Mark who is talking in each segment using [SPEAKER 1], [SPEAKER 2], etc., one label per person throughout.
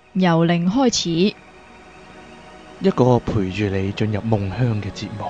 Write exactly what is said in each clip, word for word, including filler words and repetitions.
[SPEAKER 1] 由零開始，
[SPEAKER 2] 一個陪住你進入夢鄉嘅節目。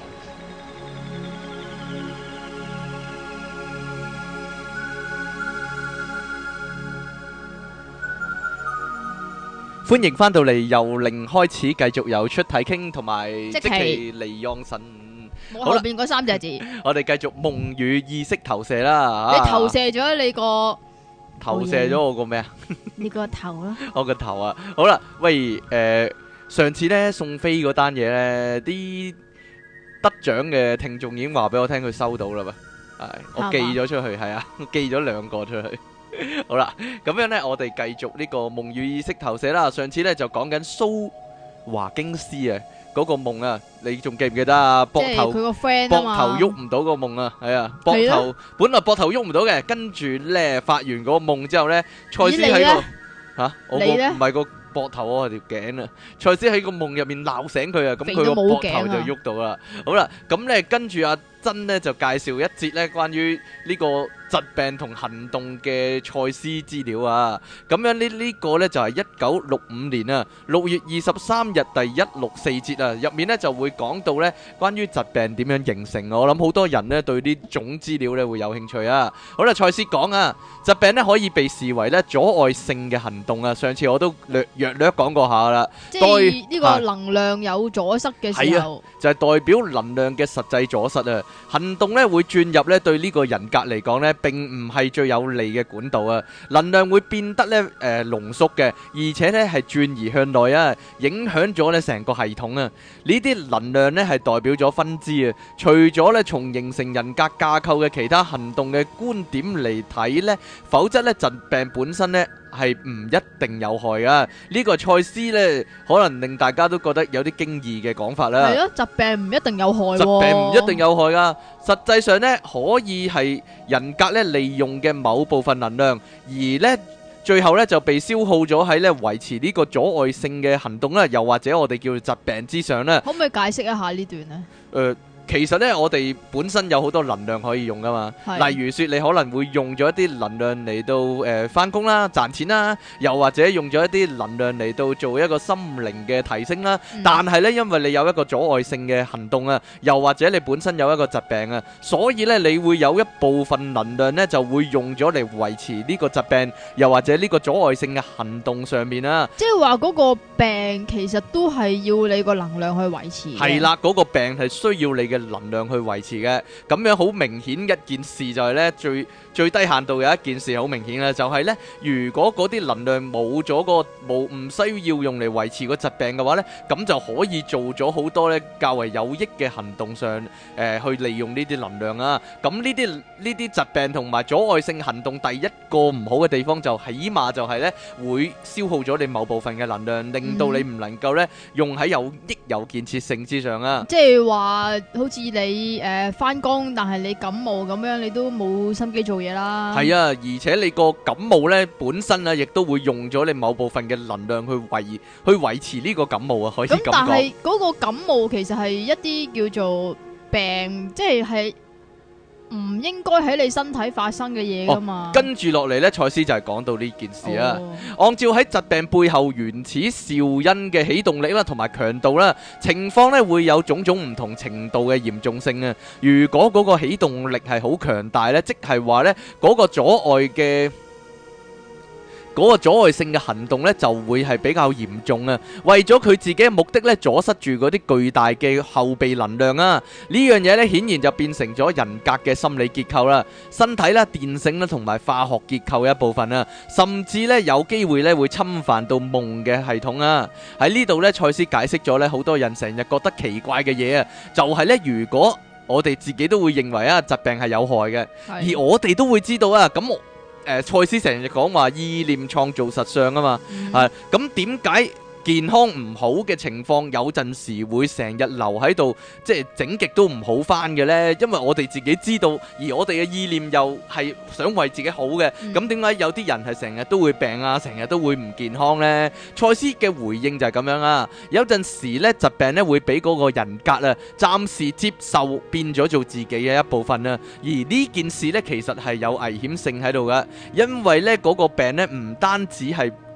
[SPEAKER 2] 歡迎翻到嚟，由零開始，繼續有出體傾同埋即其離讓神。
[SPEAKER 1] 冇後邊嗰三隻字。
[SPEAKER 2] 我哋繼續夢與意識投射啦。
[SPEAKER 1] 你投射咗你個
[SPEAKER 2] 投射咗我個咩啊？
[SPEAKER 1] 你個頭啦。
[SPEAKER 2] 我個頭啊！好啦，喂，誒，上次咧送飛嗰單嘢咧，啲得獎嘅聽眾已經話俾我聽，佢收到啦嘛。係，我寄咗出去，係啊，寄咗兩個出去。好啦，咁樣咧，我哋繼續呢個夢與意識投射啦。上次咧就講緊蘇華京斯啊，嗰個夢啊，你仲記唔記得啊？膊頭，
[SPEAKER 1] 佢個 friend 啊嘛，
[SPEAKER 2] 膊頭喐唔到個夢啊，係啊，膊頭本來膊頭喐唔到嘅，跟住咧發完嗰個夢之後咧，賽斯喺個吓，我個唔係個膊頭啊，條頸啊，賽斯喺個夢入面鬧醒佢啊，咁佢個膊頭就喐到啦。好啦，咁咧跟住阿珍咧就介紹一節咧關於呢個疾病同行動嘅賽斯資料啊，咁樣呢呢個呢就係一九六五年啊六月二十三日第一六四節啊，入面呢就會講到呢關於疾病點樣形成。我諗好多人呢對呢種資料呢會有興趣啊。好啦，賽斯講啊，疾病呢可以被視為呢阻礙性嘅行動啊。上次我都略略略講過下啦，
[SPEAKER 1] 即係呢個能量有阻塞嘅時候，
[SPEAKER 2] 就係代表能量嘅實際阻塞啊。行動呢會轉入呢對呢個人格嚟講呢，並唔係最有利嘅管道啊！能量會變得咧誒濃縮嘅，而且咧係轉移向內啊，影響咗咧成個系統啊！呢啲能量咧係代表咗分支啊！除咗咧從形成人格架構嘅其他行動嘅觀點嚟睇咧，否則咧疾病本身咧係唔一定有害啊！呢個賽斯咧可能令大家都覺得有啲驚異嘅講法啦。
[SPEAKER 1] 係咯，疾病唔一定有害，
[SPEAKER 2] 疾病唔一定有害噶。實際上咧，可以係人格咧利用嘅某部分能量，而咧最後咧就被消耗咗喺咧維持呢個阻礙性嘅行動啦，又或者我哋叫做疾病之上啦。
[SPEAKER 1] 可唔可以解釋一下呢段呢？
[SPEAKER 2] 誒。其實咧，我哋本身有好多能量可以用噶嘛。例如說，你可能會用咗一啲能量嚟到誒翻工啦、賺錢啦，又或者用咗一啲能量嚟到做一個心靈嘅提升啦。嗯、但係咧，因為你有一個阻礙性嘅行動啊，又或者你本身有一個疾病啊，所以咧你會有一部分能量咧就會用咗嚟維持呢個疾病，又或者呢個阻礙性嘅行動上面啊。
[SPEAKER 1] 即係話嗰個病其實都係要你個能量去維持。
[SPEAKER 2] 係啦，嗰個病係需要你嘅能量去維持嘅，咁樣好明顯一件事就係呢，最最低限度有一件事好明顯嘅，就係呢：如果嗰啲能量冇咗個冇唔需要用嚟維持個疾病嘅話呢，咁就可以做咗好多呢較為有益嘅行動上，誒、呃、去利用呢啲能量啊。咁呢啲呢啲疾病同埋阻礙性行動，第一個唔好嘅地方就起碼就係呢會消耗咗你某部分嘅能量，令到你唔能夠呢用喺有益有建設性之上啊。
[SPEAKER 1] 即係話好似你。你誒翻工，但係你感冒咁樣，你都冇心機做嘢啦。
[SPEAKER 2] 係啊，而且你個感冒咧本身啊，亦都會用咗你某部分嘅能量去維去維持呢個感冒啊，可以咁講。咁但係
[SPEAKER 1] 嗰個感冒其實係一啲叫做病，即係係唔應該喺你身體發生嘅嘢噶嘛。
[SPEAKER 2] 哦、跟住落嚟咧，賽斯就係講到呢件事啊。哦、按照喺疾病背後原始肇因嘅起動力啦，同埋強度啦，情況咧會有種種唔同程度嘅嚴重性啊。如果嗰個起動力係好強大咧，即係話咧嗰個阻礙嘅。嗰個阻礙性嘅行動呢，就會係比較嚴重啊！為咗佢自己嘅目的呢，阻塞住嗰啲巨大嘅後備能量啊！呢樣嘢呢，顯然就變成咗人格嘅心理結構啦、身體啦、電性啦同埋化學結構嘅一部分啊！甚至呢，有機會呢會侵犯到夢嘅系統啊！喺呢度呢，賽斯解釋咗呢好多人成日覺得奇怪嘅嘢啊，就係呢，如果我哋自己都會認為啊疾病係有害嘅，而我哋都會知道啊咁。誒，賽斯成日講話意念創造實相啊嘛，係咁點解？健康唔好嘅情況有陣時會成日留喺度，即係整極都唔好翻嘅呢。因為我哋自己知道，而我哋嘅意念又係想為自己好嘅，咁點解有啲人係成日都會病啊，成日都會唔健康呢？賽斯嘅回應就係咁樣啊。有陣時呢，疾病呢會俾嗰個人格啊暫時接受變咗做自己嘅一部分啊，而呢件事呢，其實係有危險性喺度噶，因為呢嗰個病呢唔單止係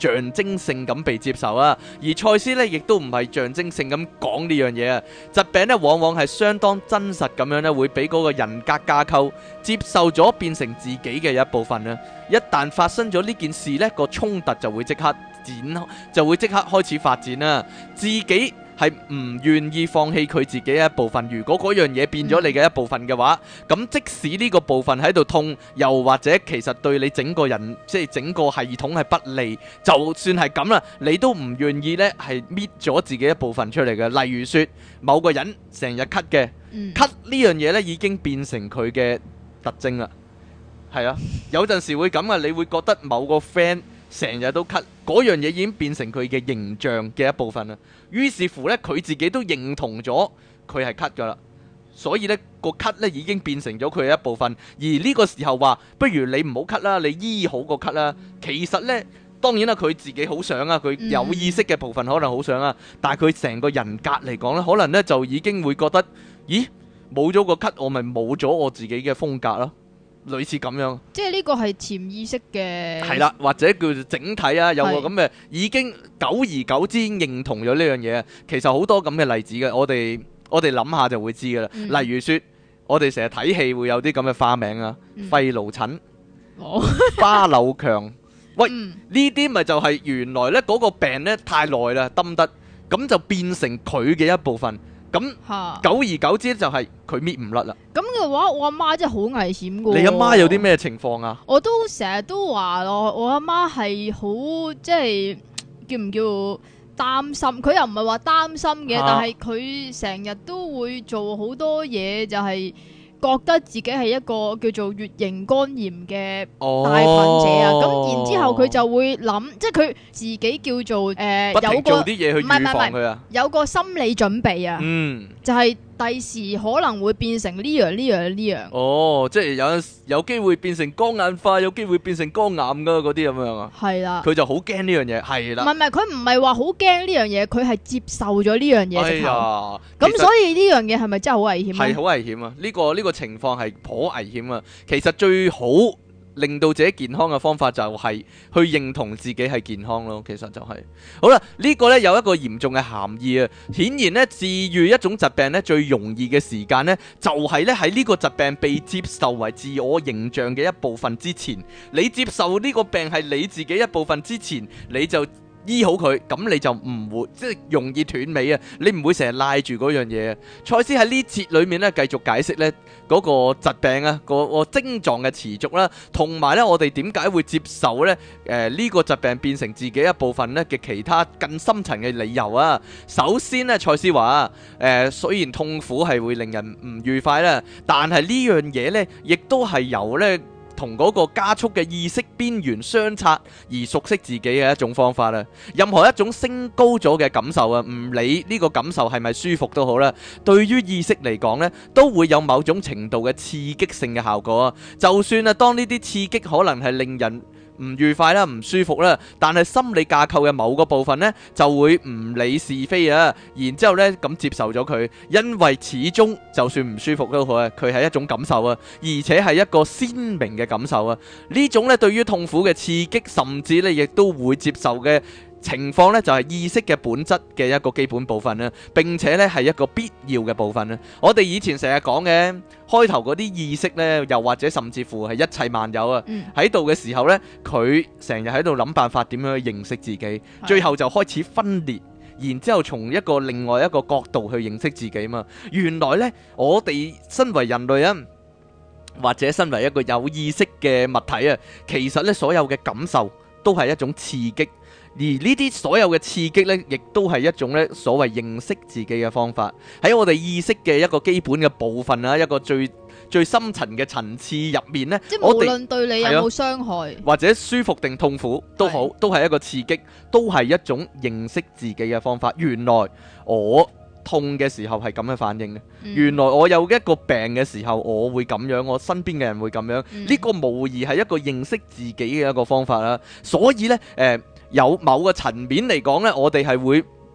[SPEAKER 2] 象徵性咁被接受啊。而賽斯呢亦都唔係象徵性咁講呢樣嘢啊。疾病呢往往係相當真實咁樣呢，會俾嗰個人格架構接受咗，變成自己嘅一部分啊。一旦發生咗呢件事呢，個衝突就會即刻展，就會即刻開始發展啦。自己係唔願意放棄佢自己嘅一部分，如果嗰樣嘢變咗你嘅一部分嘅話，咁即使呢個部分喺度痛，又或者其實對你整個人即係整個系統係不利，就算係咁啦，你都唔願意呢係搣咗自己一部分出嚟嘅。例如說某個人成日咳嘅，咳呢樣嘢呢已經變成佢嘅特徵啦。係啊，有陣時會咁啊，你會覺得某個 friend 成日都咳，嗰樣嘢已經變成佢嘅形象嘅一部分啦。於是乎呢，佢自己都認同咗佢係咳噶啦，所以呢個咳呢已經變成咗佢嘅一部分。而呢個時候話，不如你唔好咳啦，你醫好個咳啦。其實呢，當然啦，佢自己好想啊，佢有意識嘅部分可能好想啊，但係佢成個人格嚟講呢，可能呢就已經會覺得，咦，冇咗個咳，我咪冇咗我自己嘅風格咯。類似咁樣，即係
[SPEAKER 1] 呢個係潛意識嘅，
[SPEAKER 2] 係啦，或者叫做整體啊，有個咁嘅已經久而久之認同咗呢樣嘢。其實好多咁嘅例子嘅，我哋我哋諗下就會知噶啦。嗯、例如說，我哋成日睇戲會有啲咁嘅花名啊，肺癆疹、哦、巴柳強，喂，呢啲咪就係原來呢嗰個病呢太耐啦，得得，咁就變成佢嘅一部分。咁久而久之就係佢搣唔甩啦。咁
[SPEAKER 1] 嘅話，我阿媽真係好危險噶。
[SPEAKER 2] 你阿媽有啲咩情況啊？
[SPEAKER 1] 我都成日都話咯，我阿媽係好即係叫唔叫擔心？佢又唔係話擔心嘅，啊、但係佢成日都會做好多嘢，就係、是。覺得自己係一個叫做乙型肝炎嘅帶菌者啊，咁、哦、然之後佢就會諗，即係佢自己叫做誒、呃、有個
[SPEAKER 2] 做啲嘢去預防佢啊，
[SPEAKER 1] 有個心理準備啊，
[SPEAKER 2] 嗯，
[SPEAKER 1] 就係第時可能會變成呢樣呢樣呢樣。
[SPEAKER 2] 哦，即係有有機會變成肝硬化，有機會變成肝癌噶嗰啲咁樣啊。
[SPEAKER 1] 係啦，
[SPEAKER 2] 佢就好驚呢樣嘢，係啦。
[SPEAKER 1] 唔係唔係，佢唔係話好驚呢樣嘢，佢係接受咗呢樣嘢。
[SPEAKER 2] 哎呀，
[SPEAKER 1] 咁所以呢樣嘢係咪真係好危險啊？
[SPEAKER 2] 係好危險啊！呢個呢個情況係頗危險啊。其實最好令到自己健康嘅方法就係去認同自己係健康咯。其實就係、是、好啦，呢、這個呢有一個嚴重嘅含義啊。顯然呢，治愈一種疾病呢最容易嘅時間呢，就係呢喺呢個疾病被接受為自我形象嘅一部分之前。你接受呢個病係你自己一部分之前，你就醫好佢，咁你就唔會即係容易斷尾啊！你唔會成日賴住嗰樣嘢啊！賽斯喺呢節裏面咧繼續解釋咧嗰個疾病啊，個個症狀嘅持續啦，同埋咧我哋點解會接受咧誒呢個疾病變成自己一部分咧嘅其他更深層嘅理由啊！首先咧，賽斯話誒雖然痛苦係會令人唔愉快啦，但係呢樣嘢咧亦都係由咧同嗰個加速嘅意識邊緣相擦而熟悉自己嘅一種方法啦。任何一種升高咗嘅感受啊，唔理呢個感受係咪舒服都好啦，對於意識嚟講呢，都會有某種程度嘅刺激性嘅效果啊。就算啊，當呢啲刺激可能係令人唔愉快啦，唔舒服啦，但係心理架構嘅某個部分呢，就會唔理是非啊，然之後呢咁接受咗佢，因為始終就算唔舒服都好啊，佢係一種感受啊，而且係一個鮮明嘅感受啊。呢種呢對於痛苦嘅刺激，甚至呢亦都會接受嘅情況呢，就係意識嘅本質嘅一個基本部分啦，並且呢係一個必要嘅部分啦。我哋以前成日講嘅開頭嗰啲意識呢，又或者甚至乎係一切萬有啊，喺度嘅時候呢，佢成日喺度諗辦法點樣去認識自己，最後就開始分裂，然之後從一個另外一個角度去認識自己嘛。原來呢，我哋身為人類啊，或者身為一個有意識嘅物體啊，其實呢所有嘅感受都係一種刺激。而呢啲所有嘅刺激呢，亦都係一種呢所謂認識自己嘅方法。喺我哋意識嘅一個基本嘅部分啊，一個最最深層嘅層次入面呢，
[SPEAKER 1] 即係無論對你有冇傷害，
[SPEAKER 2] 或者舒服定痛苦都好，都係一個刺激，都係一種認識自己嘅方法。原來我痛嘅時候係咁嘅反應嘅，嗯、原來我有一個病嘅時候我會咁樣，我身邊嘅人會咁樣。呢、嗯、個無疑係一個認識自己嘅一個方法啦。所以呢，誒、呃。有某個層面嚟講呢，我哋係會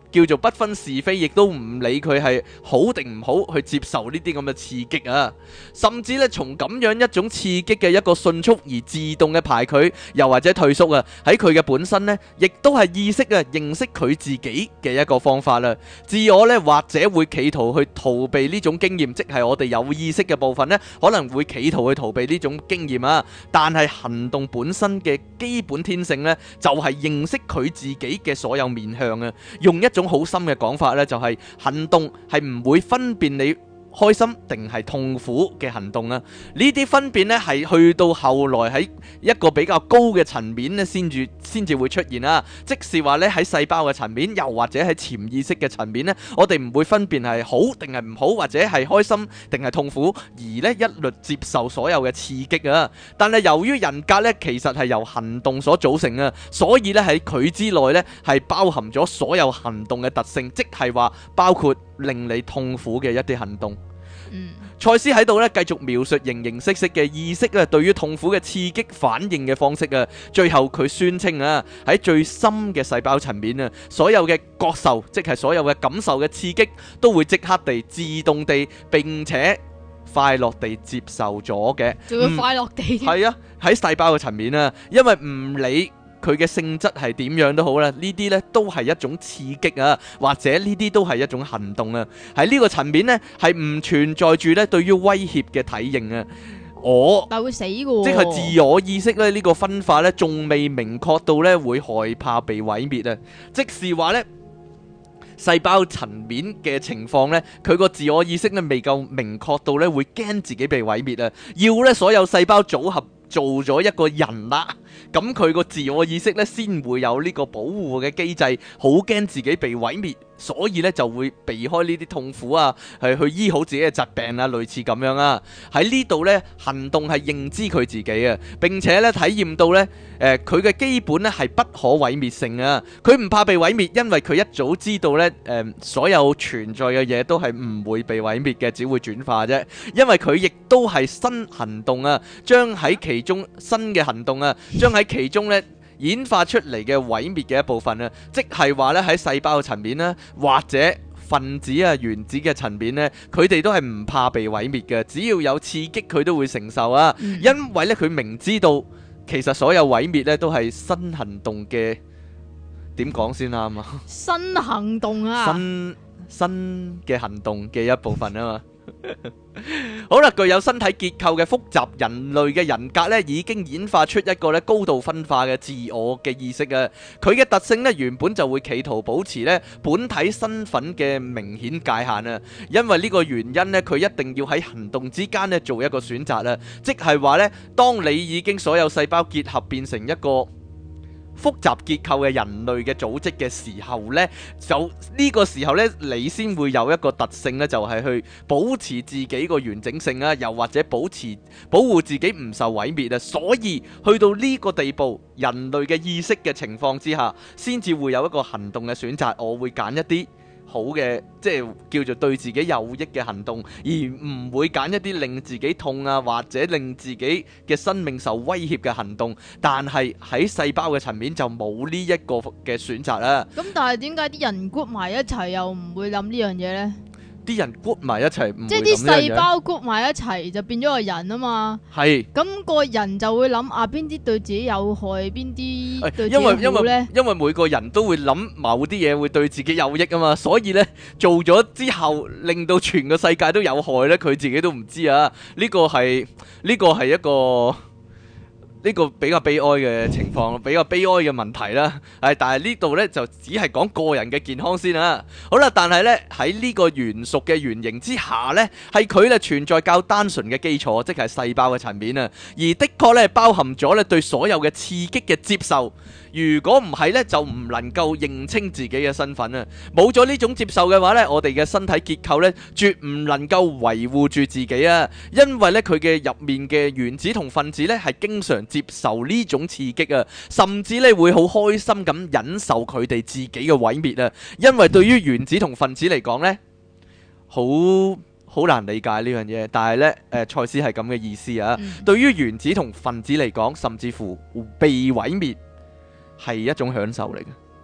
[SPEAKER 2] 叫做不分是非，亦都唔理佢係好定唔好去接受呢啲咁嘅刺激啊，甚至咧從咁樣一種刺激嘅一個迅速而自動嘅排拒，又或者退縮啊，喺佢嘅本身呢，亦都係意識啊認識佢自己嘅一個方法啦。自我呢，或者會企圖去逃避呢種經驗，即係我哋有意識嘅部分呢，可能會企圖去逃避呢種經驗啊。但係行動本身嘅基本天性呢，就係認識佢自己嘅所有面向啊。用一種好深嘅講法呢，就係行動係唔會分辨你開心定係痛苦嘅行動啊！呢啲分辨呢係去到後來喺一個比較高嘅層面呢先至先至會出現啊！即是話呢喺細胞嘅層面，又或者喺潛意識嘅層面呢，我哋唔會分辨係好定係唔好，或者係開心定係痛苦，而呢一律接受所有嘅刺激啊！但係由於人格呢其實係由行動所組成啊，所以呢喺佢之內呢係包含咗所有行動嘅特性，即係話包括令你痛苦嘅一啲行動。
[SPEAKER 1] 嗯，
[SPEAKER 2] 賽斯喺度咧繼續描述形形色色嘅意識啊，對於痛苦嘅刺激反應嘅方式啊，最後佢宣稱啊，喺最深嘅細胞層面啊，所有嘅覺受，即係所有嘅感受嘅刺激，都會即刻地、自動地並且快樂地接受咗嘅，
[SPEAKER 1] 仲要快樂地，
[SPEAKER 2] 係啊，喺細胞嘅層面啊，因為唔理佢嘅性質係點樣都好啦，呢啲呢都係一種刺激啊，或者呢啲都係一種行動啊。喺呢個層面呢，係唔存在住呢對於威脅嘅體型啊。我
[SPEAKER 1] 但會死嘅喎，
[SPEAKER 2] 即係自我意識咧，呢個分化呢，仲未明確到呢會害怕被毀滅啊。即是話呢，細胞層面嘅情況呢，佢個自我意識呢未夠明確到呢會驚自己被毀滅啊。要呢所有細胞組合做咗一個人啦，咁佢個自我意識呢先會有呢個保護嘅機制，好驚自己被毀滅，所以呢就會避開呢啲痛苦啊，係去醫好自己嘅疾病啊，類似咁樣啊。喺呢度呢，行動係認知佢自己啊，並且呢體驗到呢，誒佢嘅基本呢係不可毀滅性啊。佢唔怕被毀滅，因為佢一早知道呢，誒、呃、所有存在嘅嘢都係唔會被毀滅嘅，只會轉化啫。因為佢亦都係新行動啊，將喺其中新嘅行動啊，將喺其中咧演化出嚟嘅毀滅嘅一部分啊，即係話咧喺細胞嘅層面啦，或者分子啊原子嘅層面咧，佢哋都係唔怕被毀滅嘅，只要有刺激佢都會承受啊。嗯、因為咧佢明知道其實所有毀滅咧都係新行動嘅，點講先啱啊？
[SPEAKER 1] 新行動啊，
[SPEAKER 2] 新新嘅行動嘅一部分啊嘛。好啦，具有身體結構嘅複雜人類嘅人格咧，已經演化出一個咧高度分化嘅自我嘅意識啊！佢嘅特性咧原本就會企圖保持咧本體身份嘅明顯界限啊！因為呢個原因咧，佢一定要喺行動之間咧做一個選擇啊！即係話咧，當你已經所有細胞結合變成一個複雜結構嘅人類嘅組織嘅時候呢，就呢個時候呢，你先會有一個特性呢，就係去保持自己個完整性啊，又或者保持保護自己唔受毀滅啊。所以去到呢個地步，人類嘅意識嘅情況之下，先至會有一個行動嘅選擇。我會揀一啲好嘅，即係叫做對自己有益嘅行動，而唔會揀一啲令自己痛啊，或者令自己嘅生命受威脅嘅行動。但係喺細胞嘅層面就冇呢一個嘅選擇啦。
[SPEAKER 1] 咁但係點解啲人 group 埋一齊又唔會諗呢樣嘢呢？
[SPEAKER 2] 啲人 group 埋一齊，唔會諗呢樣嘢。即係啲
[SPEAKER 1] 細胞 group 埋一齊就變咗個人啊嘛。係。咁個人就會諗啊，邊啲對自己有害，邊啲對自己好咧？因為因為
[SPEAKER 2] 因為每個人都會諗某啲嘢會對自己有益啊嘛，所以咧做咗之後，令到全個世界都有害咧，佢自己都唔知啊。呢個係呢個係一個。呢個比較悲哀嘅情況，比較悲哀嘅問題啦。係，但係呢度呢，就只係講個人嘅健康先啦。好啦，但係呢，喺呢個元素嘅原型之下呢，係佢咧存在較單純嘅基礎，即係細胞嘅層面啊。而的確呢，包含咗咧對所有嘅刺激嘅接受。如果唔係呢，就唔能夠認清自己嘅身份啊。冇咗呢種接受嘅話呢，我哋嘅身體結構呢，絕唔能夠維護住自己啊。因為呢，佢嘅入面嘅原子同分子呢，係經常接受呢種刺激啊，甚至呢會好開心咁忍受佢哋自己嘅毀滅啊。因為對於原子同分子嚟講呢，好好難理解呢樣嘢。但係呢，誒，賽斯係咁嘅意思啊。嗯、對於原子同分子嚟講，甚至乎被毀滅係一種享受嚟嘅，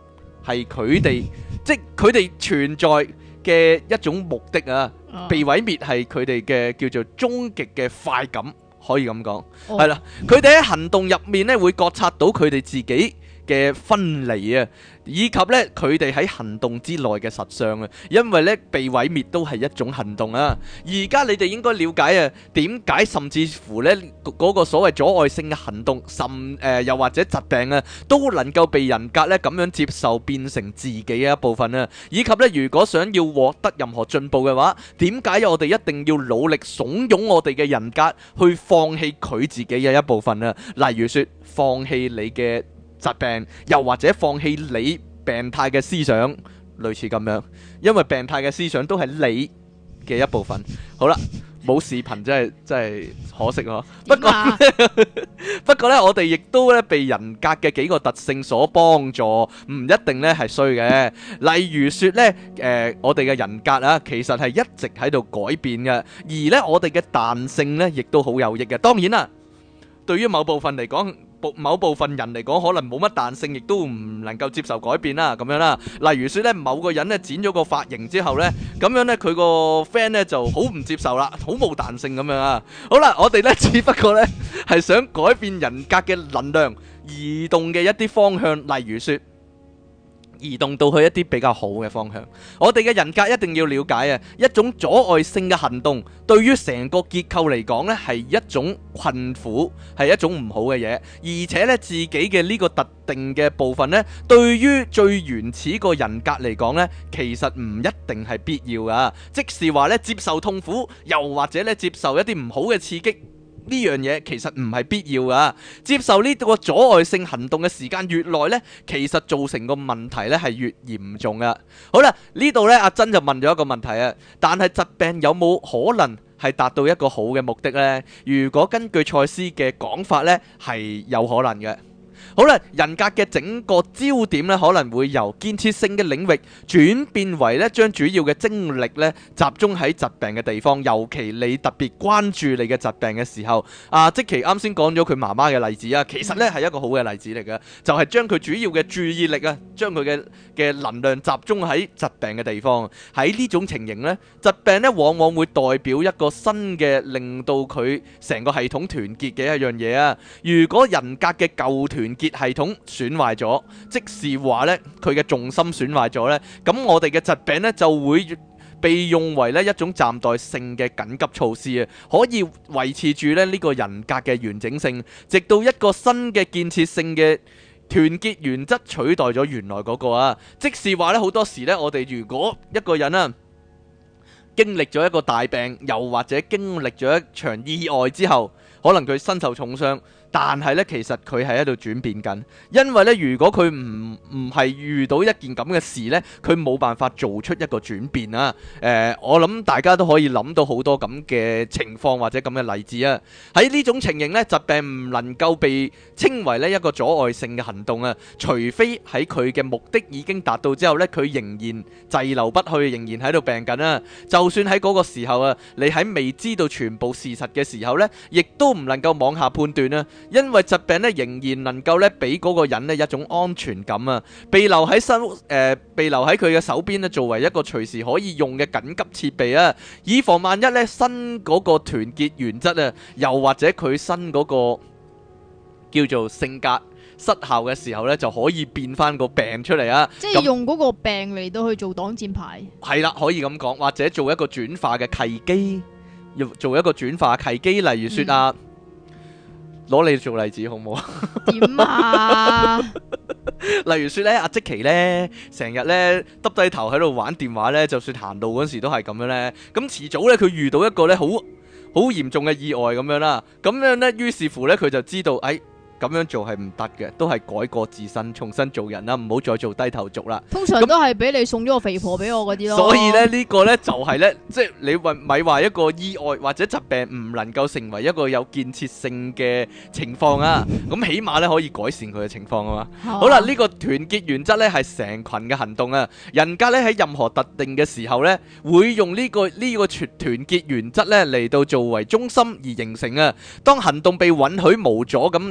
[SPEAKER 2] 係佢哋，即係佢哋存在嘅一種目的啊。被毀滅係佢哋嘅叫做終極嘅快感，可以咁講，係啦。佢哋喺行動入面咧會覺察到佢哋自己嘅分離啊，以及咧佢哋喺行動之內嘅實相啊，因為咧被毀滅都係一種行動啊。而家你哋應該了解啊，點解甚至乎咧嗰個所謂阻礙性嘅行動，甚誒、呃、又或者疾病啊，都能夠被人格咧咁樣接受，變成自己嘅一部分啊。以及咧，如果想要獲得任何進步嘅話，點解我哋一定要努力慫恿我哋嘅人格去放棄佢自己嘅一部分啊？例如說，放棄你嘅疾病，又或者放棄你病態嘅思想，類似咁樣，因為病態嘅思想都係你嘅一部分。好啦，冇視頻真係真係可惜咯。不過不過咧，我哋亦都咧被人格嘅幾個特性所幫助，唔一定咧係衰嘅。例如說咧，誒、呃，我哋嘅人格啊，其實係一直喺度改變嘅，而咧我哋嘅彈性咧，亦都好有益嘅。當然啦，對於某部分嚟講，某部分人嚟講，可能冇乜彈性，亦都唔能夠接受改變啦，咁樣啦。例如說咧，某個人咧剪咗個髮型之後咧，咁樣咧佢個 friend 咧就好唔接受啦，好冇彈性咁樣啊。好啦，我哋咧只不過咧係想改變人格嘅能量移動嘅一啲方向，例如說移動到去一啲比較好嘅方向。我哋嘅人格一定要了解啊，一種阻礙性嘅行動對於成個結構嚟講呢係一種困苦，係一種唔好嘅嘢。而且呢，自己嘅呢個特定嘅部分呢，對於最原始個人格嚟講呢，其實唔一定係必要噶。即是話呢，接受痛苦，又或者呢接受一啲唔好嘅刺激，呢樣嘢其實唔係必要噶。接受呢個阻礙性行動嘅時間越耐呢，其實造成個問題呢係越嚴重噶。好啦，呢度呢，阿珍就問咗一個問題啊，但係疾病有冇可能係達到一個好嘅目的呢？如果根據賽斯嘅講法呢，係有可能嘅。好啦，人格嘅整個焦點咧，可能會由建設性嘅領域轉變為咧，將主要嘅精力咧集中喺疾病嘅地方。尤其你特別關注你嘅疾病嘅時候，啊，即其啱先講咗佢媽媽嘅例子啊，其實咧係一個好嘅例子嚟嘅，就係將佢主要嘅注意力啊，將佢嘅嘅能量集中喺疾病嘅地方。喺呢種情形咧，疾病咧往往會代表一個新嘅令到佢成個系統團結嘅一樣嘢啊。如果人格嘅舊團結系統損壞咗，即是話呢，佢嘅重心損壞咗呢，咁我哋嘅疾病呢就會被用為呢一種暫代性嘅緊急措施啊，可以維持住呢呢個人格嘅完整性，直到一個新嘅建設性嘅團結原則取代咗原來嗰個啊。即是話呢，好多時呢，我哋如果一個人啊經歷咗一個大病，又或者經歷咗一場意外之後，可能佢身受重傷。但係咧，其實佢係喺度轉變緊，因為咧，如果佢唔唔係遇到一件咁嘅事咧，佢冇辦法做出一個轉變啊！誒、呃，我諗大家都可以諗到好多咁嘅情況或者咁嘅例子啊！喺呢種情形咧，疾病唔能夠被稱為咧一個阻礙性嘅行動啊，除非喺佢嘅目的已經達到之後咧，佢仍然滯留不去，仍然喺度病緊啊！就算喺嗰個時候啊，你喺未知道全部事實嘅時候咧，亦都唔能夠妄下判斷啊！因為疾病咧仍然能夠咧俾嗰個人咧一種安全感啊，被留喺身誒，被留喺佢嘅手邊咧，作為一個隨時可以用嘅緊急設備啊，以防萬一咧新嗰個團結原則啊，又或者佢新嗰個叫做性格失效嘅時候咧，就可以變翻個病出嚟啊！
[SPEAKER 1] 即係用嗰個病嚟到去做擋箭牌。係
[SPEAKER 2] 啦，可以咁講，或者做一個轉化嘅契機，要做一個轉化契機，例如說啊。嗯攞你做例子好唔好啊？
[SPEAKER 1] 點啊？
[SPEAKER 2] 例如說咧，阿積奇咧，成日咧耷低頭喺度玩電話咧，就算行路嗰時都係咁樣咧。咁遲早咧，佢遇到一個咧好好嚴重嘅意外咁樣啦。咁樣咧，於是乎咧，佢就知道，哎。咁樣做係唔得嘅，都係改過自身，重新做人啦，唔好再做低頭族啦。
[SPEAKER 1] 通常都係俾你送咗個肥婆俾我嗰啲咯。
[SPEAKER 2] 所以咧，呢個呢就係呢，即係你話咪話一個意外或者疾病唔能夠成為一個有建設性嘅情況啊。咁起碼呢可以改善佢嘅情況啊嘛。好啦，呢個團結原則呢係成群嘅行動啊。人格呢喺任何特定嘅時候呢，會用呢個呢個團團結原則呢嚟到作為中心而形成啊。當行動被允許無阻咁流動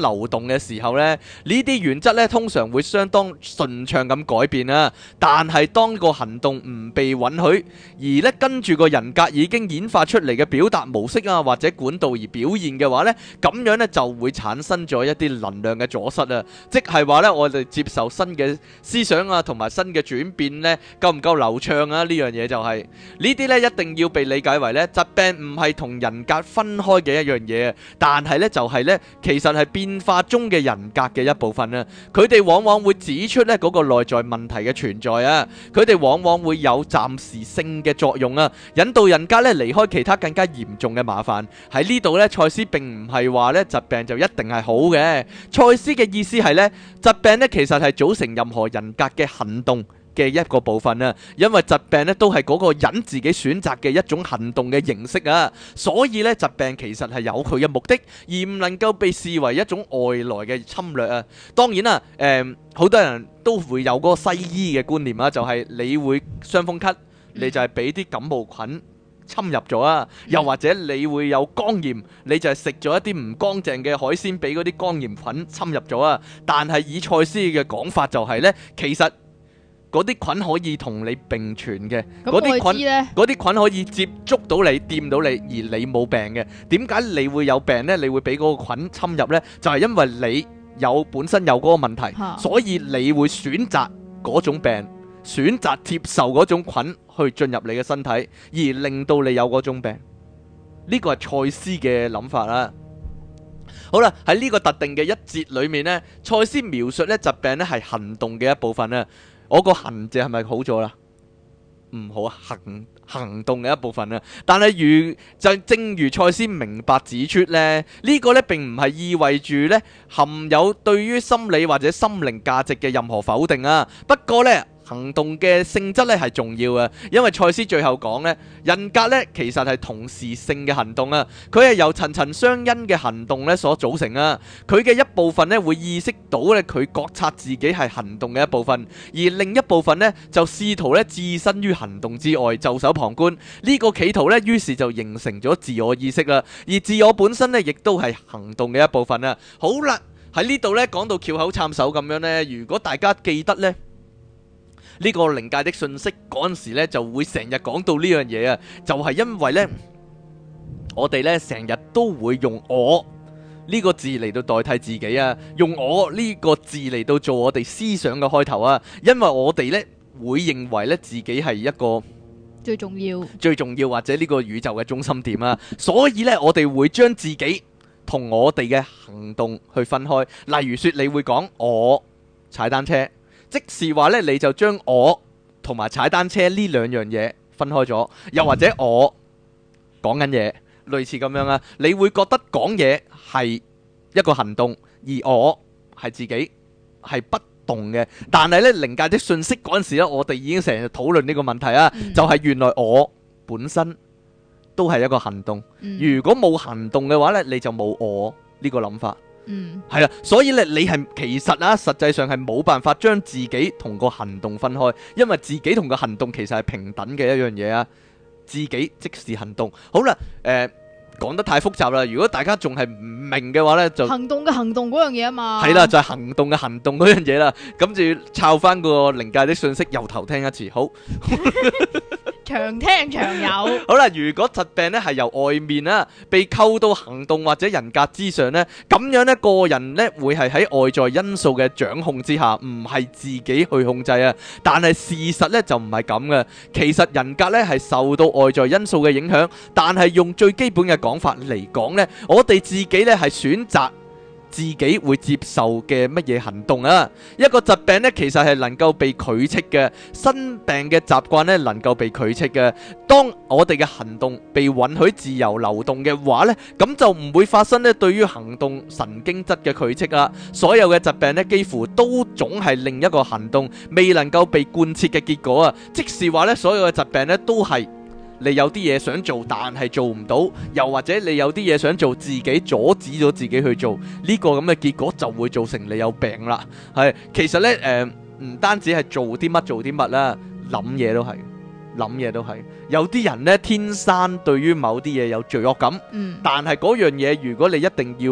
[SPEAKER 2] 動嘅時候咧，呢啲原則咧通常會相當順暢咁改變啊。但係當個行動唔被允許，而咧跟住個人格已經演化出嚟嘅表達模式啊或者管道而表現嘅話咧，咁樣咧就會產生咗一啲能量嘅阻塞啊。即係話咧，我哋接受新嘅思想啊同埋新嘅轉變咧，夠唔夠流暢啊？呢樣嘢就係呢啲咧一定要被理解為咧疾病唔係同人格分開嘅一樣嘢，但係咧就係咧其實係變化中嘅人格嘅一部分啊。佢哋往往會指出咧嗰個內在問題嘅存在啊，佢哋往往會有暫時性嘅作用啊，引導人格咧離開其他更加嚴重嘅麻煩。喺呢度咧，賽斯並唔係話咧疾病就一定係好嘅。賽斯嘅意思係咧，疾病咧其實係組成任何人格嘅行動嘅一個部分啊，因為疾病咧都係嗰個人自己選擇嘅一種行動嘅形式啊，所以咧疾病其實係有佢嘅目的，而唔能夠被視為一種外來嘅侵略啊。當然啦，誒好多人都會有嗰個西醫嘅觀念啊，就係你會傷風咳，你就係俾啲感冒菌侵入咗啊，又或者你會有肝炎，你就係食咗一啲唔乾淨嘅海鮮，俾嗰啲肝炎菌侵入咗啊。但係以賽斯嘅講法就係咧，其實嗰啲菌可以同你並存嘅，嗰啲菌嗰啲菌可以接觸到你、掂到你，而你冇病嘅。點解你會有病呢？你會俾嗰個菌侵入呢？就係因為你有本身有嗰個問題，所以你會選擇嗰種病，選擇接受嗰種菌去進入你嘅身體，而令到你有嗰種病。呢個係賽斯嘅諗法啦。好啦，喺呢個特定嘅一節裏面呢，賽斯描述呢疾病呢係行動嘅一部分啊。我個行字係咪好咗啦？唔好啊，行行動嘅一部分啊。但係如就正如賽斯明白指出呢，呢、呢個呢並唔係意味住呢含有對於心理或者心靈價值嘅任何否定啊。不過呢，行動嘅性質咧係重要嘅，因為賽斯最後講咧，人格咧其實係同時性嘅行動啊，佢係由層層相因嘅行動咧所組成啊。佢嘅一部分咧會意識到咧佢覺察自己係行動嘅一部分，而另一部分咧就試圖咧置身於行動之外，袖手旁觀。呢個企圖咧，於是就形成咗自我意識啦，而自我本身咧亦都係行動嘅一部分啊。好啦，喺呢度咧講到翹口插手咁樣咧，如果大家記得咧。呢個靈界的訊息嗰陣時咧，就會成日講到呢樣嘢啊，就係因為呢，我哋呢成日都會用我呢個字嚟到代替自己啊，用我呢個字嚟到做我哋思想嘅開頭啊，因為我哋呢會認為呢自己係一個
[SPEAKER 1] 最重要、
[SPEAKER 2] 最重要或者呢個宇宙嘅中心點啊，所以呢，我哋會將自己同我哋嘅行動去分開。例如說，你會講我踩單車。即是話咧，你就將我同埋踩單車呢兩樣嘢分開咗，又或者我講緊嘢，類似咁樣啊。你會覺得講嘢係一個行動，而我係自己係不動嘅。但係咧，靈界的訊息嗰陣時咧，我哋已經成日討論呢個問題啊，嗯、就係原來我本身都係一個行動。嗯、如果冇行動嘅話咧，你就冇我呢個諗法。嗯，係啦，所以咧，你係其實啊，實際上係冇辦法將自己同個行動分開，因為自己同個行動其實係平等嘅一樣嘢啊。自己即是行動。好啦，誒、呃，講得太複雜啦。如果大家仲係唔明嘅話咧，就
[SPEAKER 1] 行動嘅行動嗰樣嘢啊嘛。係
[SPEAKER 2] 啦，就係、是、行動嘅行動嗰樣嘢啦。咁就要抄翻個靈界的訊息，由頭聽一次。好。
[SPEAKER 1] 長聽長有。
[SPEAKER 2] 好啦，如果疾病咧係由外面啊被扣到行動或者人格之上咧，咁樣咧個人咧會係喺外在因素嘅掌控之下，唔係自己去控制啊。但係事實咧就唔係咁嘅，其實人格咧係受到外在因素嘅影響，但係用最基本嘅講法嚟講咧，我哋自己咧係選擇自己會接受嘅乜嘢行動啊？一個疾病呢，其實係能夠被拒斥嘅；生病嘅習慣呢，能夠被拒斥嘅。當我哋嘅行動被允許自由流動嘅話呢，咁就唔會發生呢對於行動神經質嘅拒斥啦。所有嘅疾病呢，幾乎都總係另一個行動未能夠被貫徹嘅結果啊！即是話呢，所有嘅疾病呢，都係。你有啲嘢想做，但係做唔到，又或者你有啲嘢想做，自己阻止咗自己去做，呢個咁嘅結果就會造成你有病啦。係，其實呢，誒、呃，唔單止係做啲乜做啲乜啦，諗嘢都係，諗嘢都係。有啲人呢，天生對於某啲嘢有罪惡感，嗯、但係嗰樣嘢如果你一定要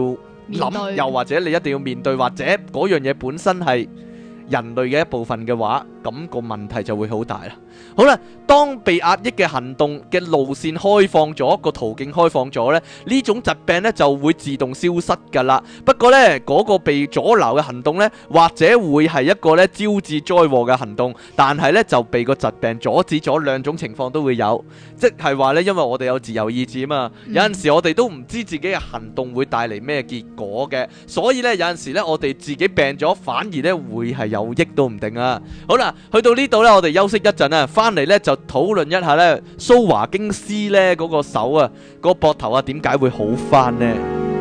[SPEAKER 2] 諗，又或者你一定要面對，或者嗰樣嘢本身係人類嘅一部分嘅話，咁個問題就會好大啦。好啦，當被壓抑嘅行動嘅路線開放咗，個途徑開放咗呢，呢種疾病呢就會自動消失㗎啦。不過呢，嗰個被阻撓嘅行動呢，或者會係一個呢招致災禍嘅行動，但係呢就被個疾病阻止咗，兩種情況都會有。即係話呢，因為我哋有自由意志啊嘛，有陣時我哋都唔知自己嘅行動會帶嚟咩結果嘅，所以呢，有陣時呢，我哋自己病咗，反而呢會係有益都唔定啊。好啦，去到呢度呢，我哋休息一陣啊。翻嚟咧就討論一下咧蘇華京斯咧嗰個手啊，嗰個膊頭啊，點解會好翻呢？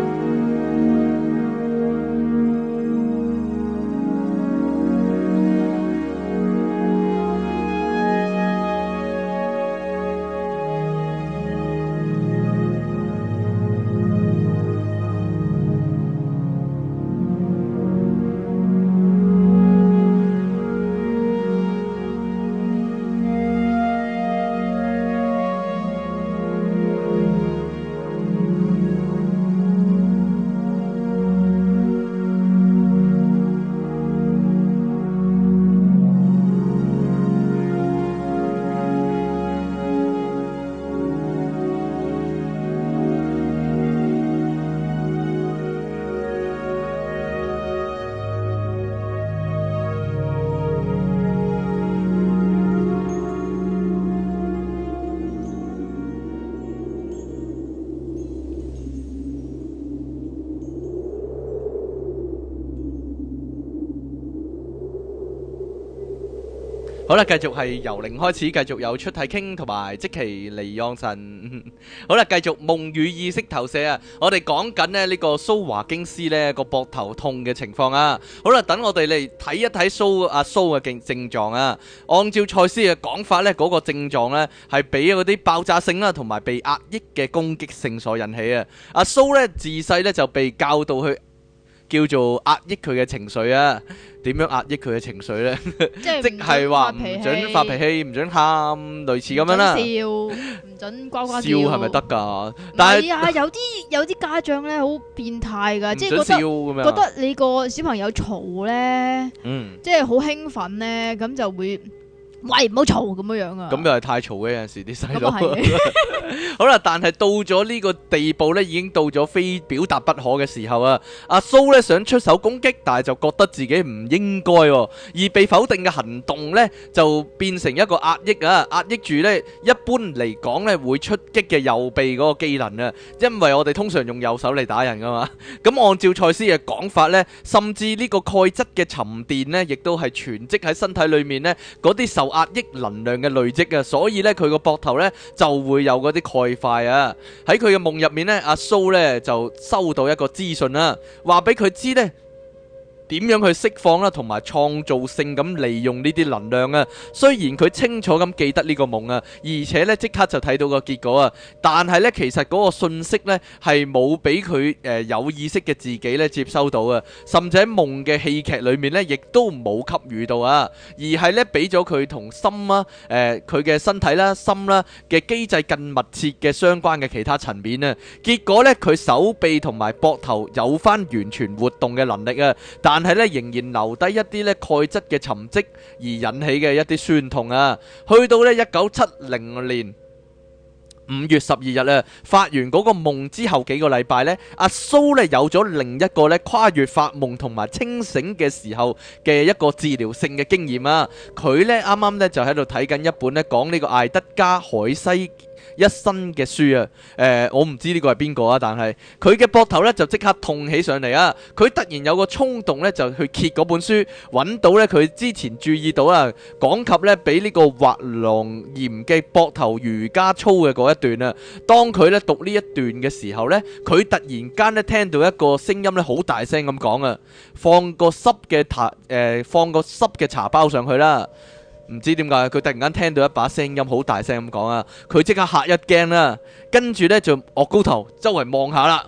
[SPEAKER 2] 好啦，繼續係由零開始，繼續有出體傾同埋即其離讓神。好啦，繼續夢與意識投射啊！我哋講緊咧呢個蘇華京斯呢個膊頭痛嘅情況啊。好啦，等我哋嚟睇一睇蘇阿蘇嘅症症狀啊。按照賽斯嘅講法呢，嗰、那個症狀呢係俾嗰啲爆炸性啦同埋被壓抑嘅攻擊性所引起啊。阿蘇呢自細呢就被教導去叫做壓抑佢嘅情緒啊。點樣壓抑佢嘅情緒呢？即係話唔準發脾氣，唔準喊，類似咁樣啦。笑，
[SPEAKER 1] 唔準呱呱叫。
[SPEAKER 2] 笑係咪得㗎？但係
[SPEAKER 1] 啊，有啲有啲家長咧好變態㗎，即係覺得覺得你個小朋友嘈咧，嗯，即係好興奮咧，咁就會。喂，唔好嘈咁樣樣啊！
[SPEAKER 2] 咁又係太嘈嘅，有陣時啲細路。好啦，但係到咗呢個地步呢，已經到咗非表達不可嘅時候啊！阿蘇呢想出手攻擊，但係就覺得自己唔應該，而被否定嘅行動呢，就變成一個壓抑啊！壓抑住呢，一般嚟講呢會出擊嘅右臂嗰個機能啊，因為我哋通常用右手嚟打人噶嘛。咁按照賽斯嘅講法呢，甚至呢個鈣質嘅沉澱呢，亦都係存積喺身體裏面呢嗰啲受壓抑能量嘅累積啊，所以咧佢個膊頭咧就會有嗰啲鈣塊啊。喺佢嘅夢入面咧，阿蘇咧就收到一個資訊啦，話俾佢知咧點樣去釋放啦，同埋創造性咁利用呢啲能量啊。雖然佢清楚咁記得呢個夢啊，而且咧即刻就睇到個結果啊，但係咧其實嗰個信息咧係冇俾佢誒有意識嘅自己咧接收到啊，甚至喺夢嘅戲劇裏面咧亦都冇給予到啊，而係咧俾咗佢同心啊誒佢嘅身體啦、心啦嘅機制更密切嘅相關嘅其他層面啊。結果咧佢手臂同埋膊頭有翻完全活動嘅能力啊，但但係咧，仍然留低一啲咧鈣質嘅沉積而引起嘅一啲酸痛啊！去到咧一九七零年五月十二日啊，發完嗰個夢之後幾個禮拜咧，阿蘇咧有咗另一個咧跨越發夢同埋清醒嘅時候嘅一個治療性嘅經驗啊！佢咧啱啱咧就喺度睇緊一本咧講呢個艾德加海西一生嘅書啊，誒、呃，我唔知呢個係邊個啊，但係佢嘅膊頭咧就即刻痛起上嚟啊！佢突然有個衝動咧，就去揭嗰本書，揾到咧佢之前注意到啊，講及咧俾呢個滑囊炎嘅膊頭瑜伽操嘅嗰一段啊。當佢咧讀呢一段嘅時候咧，佢突然間咧聽到一個聲音咧，好大聲咁講啊，放個濕嘅茶，誒、呃，放個濕嘅茶包上去啦。唔知點解佢突然間聽到一把聲音好大聲咁講啊，佢即刻嚇一驚啦，跟住呢就岳高頭周圍望下啦，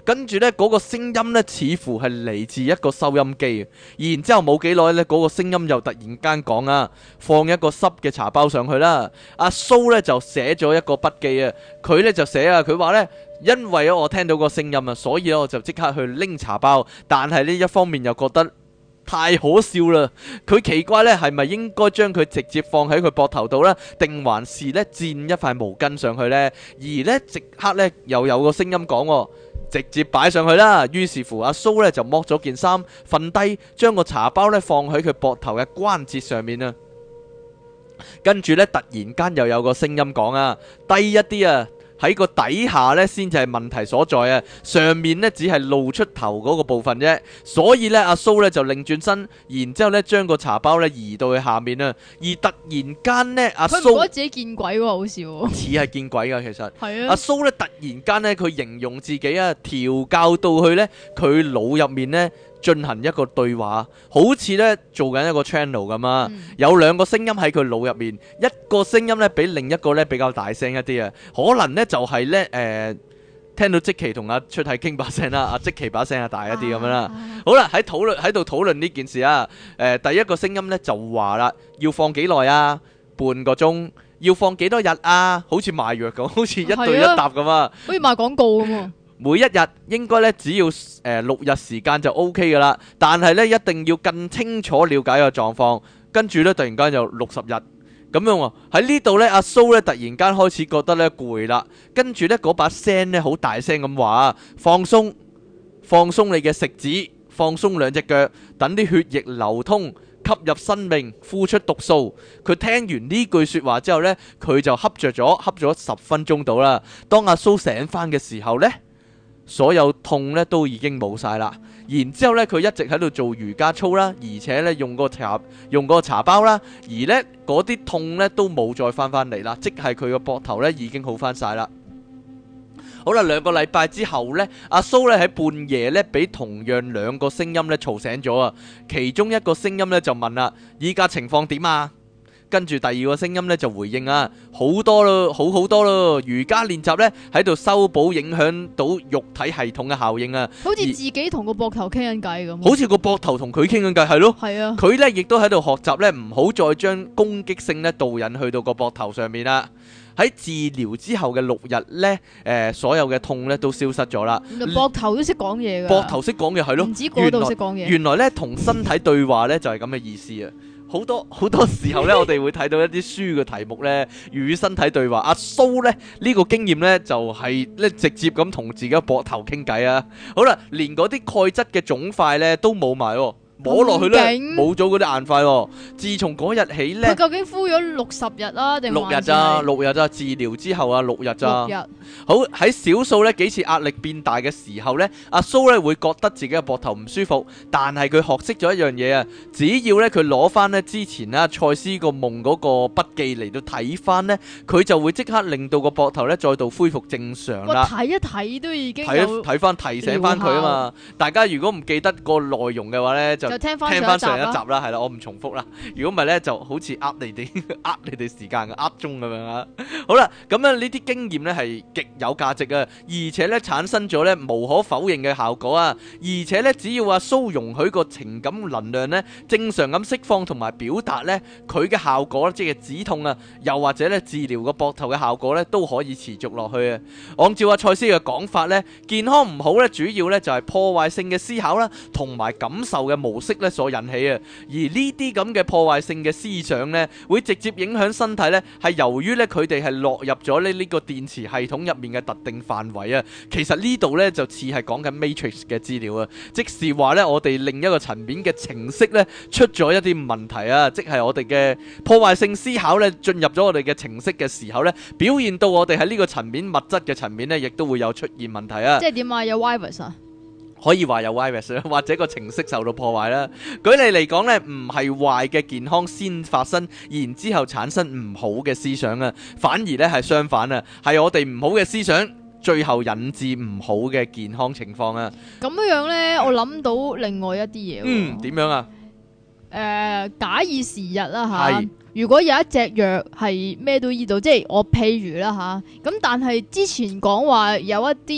[SPEAKER 2] 跟住呢嗰個聲音呢，似乎係嚟自一個收音機。然之後冇幾耐呢，嗰個聲音又突然間講啊，放一個濕嘅茶包上去啦。阿蘇呢就寫咗一個筆記啊，佢呢就寫啊，佢話呢，因為我聽到個聲音啊，所以我就即刻去拎茶包。但係呢一方面又覺得太可笑啦！佢奇怪呢係咪應該將佢直接放喺佢膊頭度呢？定還是呢墊一塊毛巾上去呢？而呢即刻呢又有個聲音講，直接擺上去啦。於是乎阿蘇呢就剝咗件衫，瞓低，將個茶包呢放喺佢膊頭嘅關節上面啊。跟住呢突然間又有個聲音講啊，低一啲啊！喺個底下呢先至係問題所在啊，上面呢只係露出頭嗰個部分啫，所以呢，阿蘇呢就擰轉身，然之後呢將個茶包呢移到去下面啊，而突然間呢，阿蘇
[SPEAKER 1] 佢唔覺得自己見鬼喎，好笑喎，
[SPEAKER 2] 似係見鬼噶，其實
[SPEAKER 1] 係啊，
[SPEAKER 2] 阿蘇呢突然間呢，佢形容自己啊調教到去呢，佢腦入面呢進行一個對話，好似呢做緊一個 channel 咁啊，嗯、有兩個聲音喺佢腦入面，一個聲音呢比另一個呢比較大聲一啲啊，可能呢就係呢，誒、呃、聽到即期同阿出體傾把聲啦，阿即期把聲係大一啲咁樣啦。啊、好啦，喺討論喺度討論呢件事啊，誒、呃、第一個聲音呢就話啦，要放幾耐啊？半個鐘。要放幾多日啊？好似賣藥咁，好似一對一答咁啊，
[SPEAKER 1] 好似賣廣告咁啊。
[SPEAKER 2] 每一日應該咧只要誒、呃、六日時間就 O K 噶啦，但係咧一定要更清楚了解個狀況。跟住咧突然間就六十日咁樣喎。喺呢度咧，阿蘇咧突然間開始覺得咧攰啦。跟住咧嗰把聲咧好大聲咁話：放鬆，放鬆你嘅食指，放鬆兩隻腳，等啲血液流通。吸入生命，呼出毒素。佢聽完呢句說話之後呢，佢就瞌着咗，瞌咗十分鐘到啦。當阿蘇醒翻嘅時候呢，所有痛呢都已經冇晒啦。然之後呢，佢一直喺度做瑜伽操啦，而且呢用個茶用個茶包啦，而呢嗰啲痛呢都冇再翻翻嚟啦，即係佢個膊頭呢已經好翻晒啦。好啦，兩個禮拜之後呢，阿蘇咧喺半夜呢，俾同樣兩個聲音咧嘈醒咗啊！其中一個聲音呢就問啦：依家情況點啊？跟住第二個聲音呢就回應啊：好多咯，好好多咯！瑜伽練習呢喺度修補影響到肉體系統嘅效應啊！
[SPEAKER 1] 好似自己同個膊頭傾緊偈咁，
[SPEAKER 2] 好似個膊頭同佢傾緊偈，係咯，
[SPEAKER 1] 係啊！
[SPEAKER 2] 佢呢亦都喺度學習呢，唔好再將攻擊性呢導引去到個膊頭上面啦。喺治療之後嘅六日呢，誒、呃、所有嘅痛呢都消失咗啦。
[SPEAKER 1] 膊頭都識講嘢㗎，
[SPEAKER 2] 膊頭識講嘢係咯，
[SPEAKER 1] 唔止嗰度識講嘢。
[SPEAKER 2] 原來呢，同身體對話呢就係咁嘅意思啊！好多好多時候呢，我哋會睇到一啲書嘅題目呢，與身體對話。阿蘇呢，呢、呢個經驗呢，就係咧直接咁同自己嘅膊頭傾偈啊！好啦，連嗰啲鈣質嘅腫塊呢都冇埋喎。摸落去咧，冇咗嗰啲硬塊喎。自從嗰日起咧，
[SPEAKER 1] 佢究竟敷咗六十日啊，定
[SPEAKER 2] 六日咋？六日咋？治療之後啊，六日咋？
[SPEAKER 1] 六日。
[SPEAKER 2] 好，喺少數咧幾次壓力變大嘅時候咧，阿蘇咧會覺得自己嘅膊頭唔舒服，但係佢學識咗一樣嘢啊，只要咧佢攞翻咧之前啊賽斯個夢嗰個筆記嚟到睇翻咧，佢就會即刻令到個膊頭咧再度恢復正常啦。
[SPEAKER 1] 睇一睇都已經
[SPEAKER 2] 睇一睇翻提醒翻佢啊嘛。大家如果唔記得個內容嘅話咧，就
[SPEAKER 1] 就聽翻
[SPEAKER 2] 上一集啦，係啦，我唔重複啦。如果唔係咧，就好似呃你哋呃你哋時間嘅呃鐘咁樣啊。好啦，咁樣呢啲經驗咧係極有價值啊，而且咧產生咗咧無可否認嘅效果啊。而且咧，只要阿蘇容許個情感能量咧正常咁釋放同埋表達咧，佢嘅效果即係止痛啊，又或者咧治療個膊頭嘅效果咧都可以持續落去啊。按照阿賽斯嘅講法咧，健康唔好咧，主要咧就係破壞性嘅思考啦，同埋感受嘅模式咧所引起。而呢啲咁嘅破壞性嘅思想呢，會直接影響身體呢，係由於呢，佢哋係落入咗呢呢個電磁系統入面嘅特定範圍啊。其實呢度呢，就似係講緊 Matrix 嘅資料啊，即是話呢，我哋另一個層面嘅程式呢，出咗一啲問題啊，即係我哋嘅破壞性思考呢，進入咗我哋嘅程式嘅時候呢，表現到我哋喺呢個層面物質嘅層面呢，亦都會有出現問題啊。
[SPEAKER 1] 即係點啊？有 virus 啊？
[SPEAKER 2] 可以話有 virus 或者個程式受到破壞啦。舉例嚟講呢，唔係壞嘅健康先發生，然之後產生唔好嘅思想啊，反而呢係相反啊，係我哋唔好嘅思想最後引致唔好嘅健康情況啊。
[SPEAKER 1] 咁樣呢，我諗到另外一啲嘢。
[SPEAKER 2] 嗯，點樣啊？
[SPEAKER 1] 誒、呃，假以時日啦吓，是如果有一隻藥係咩都醫到，即係我譬如啦吓，咁但係之前講話有一啲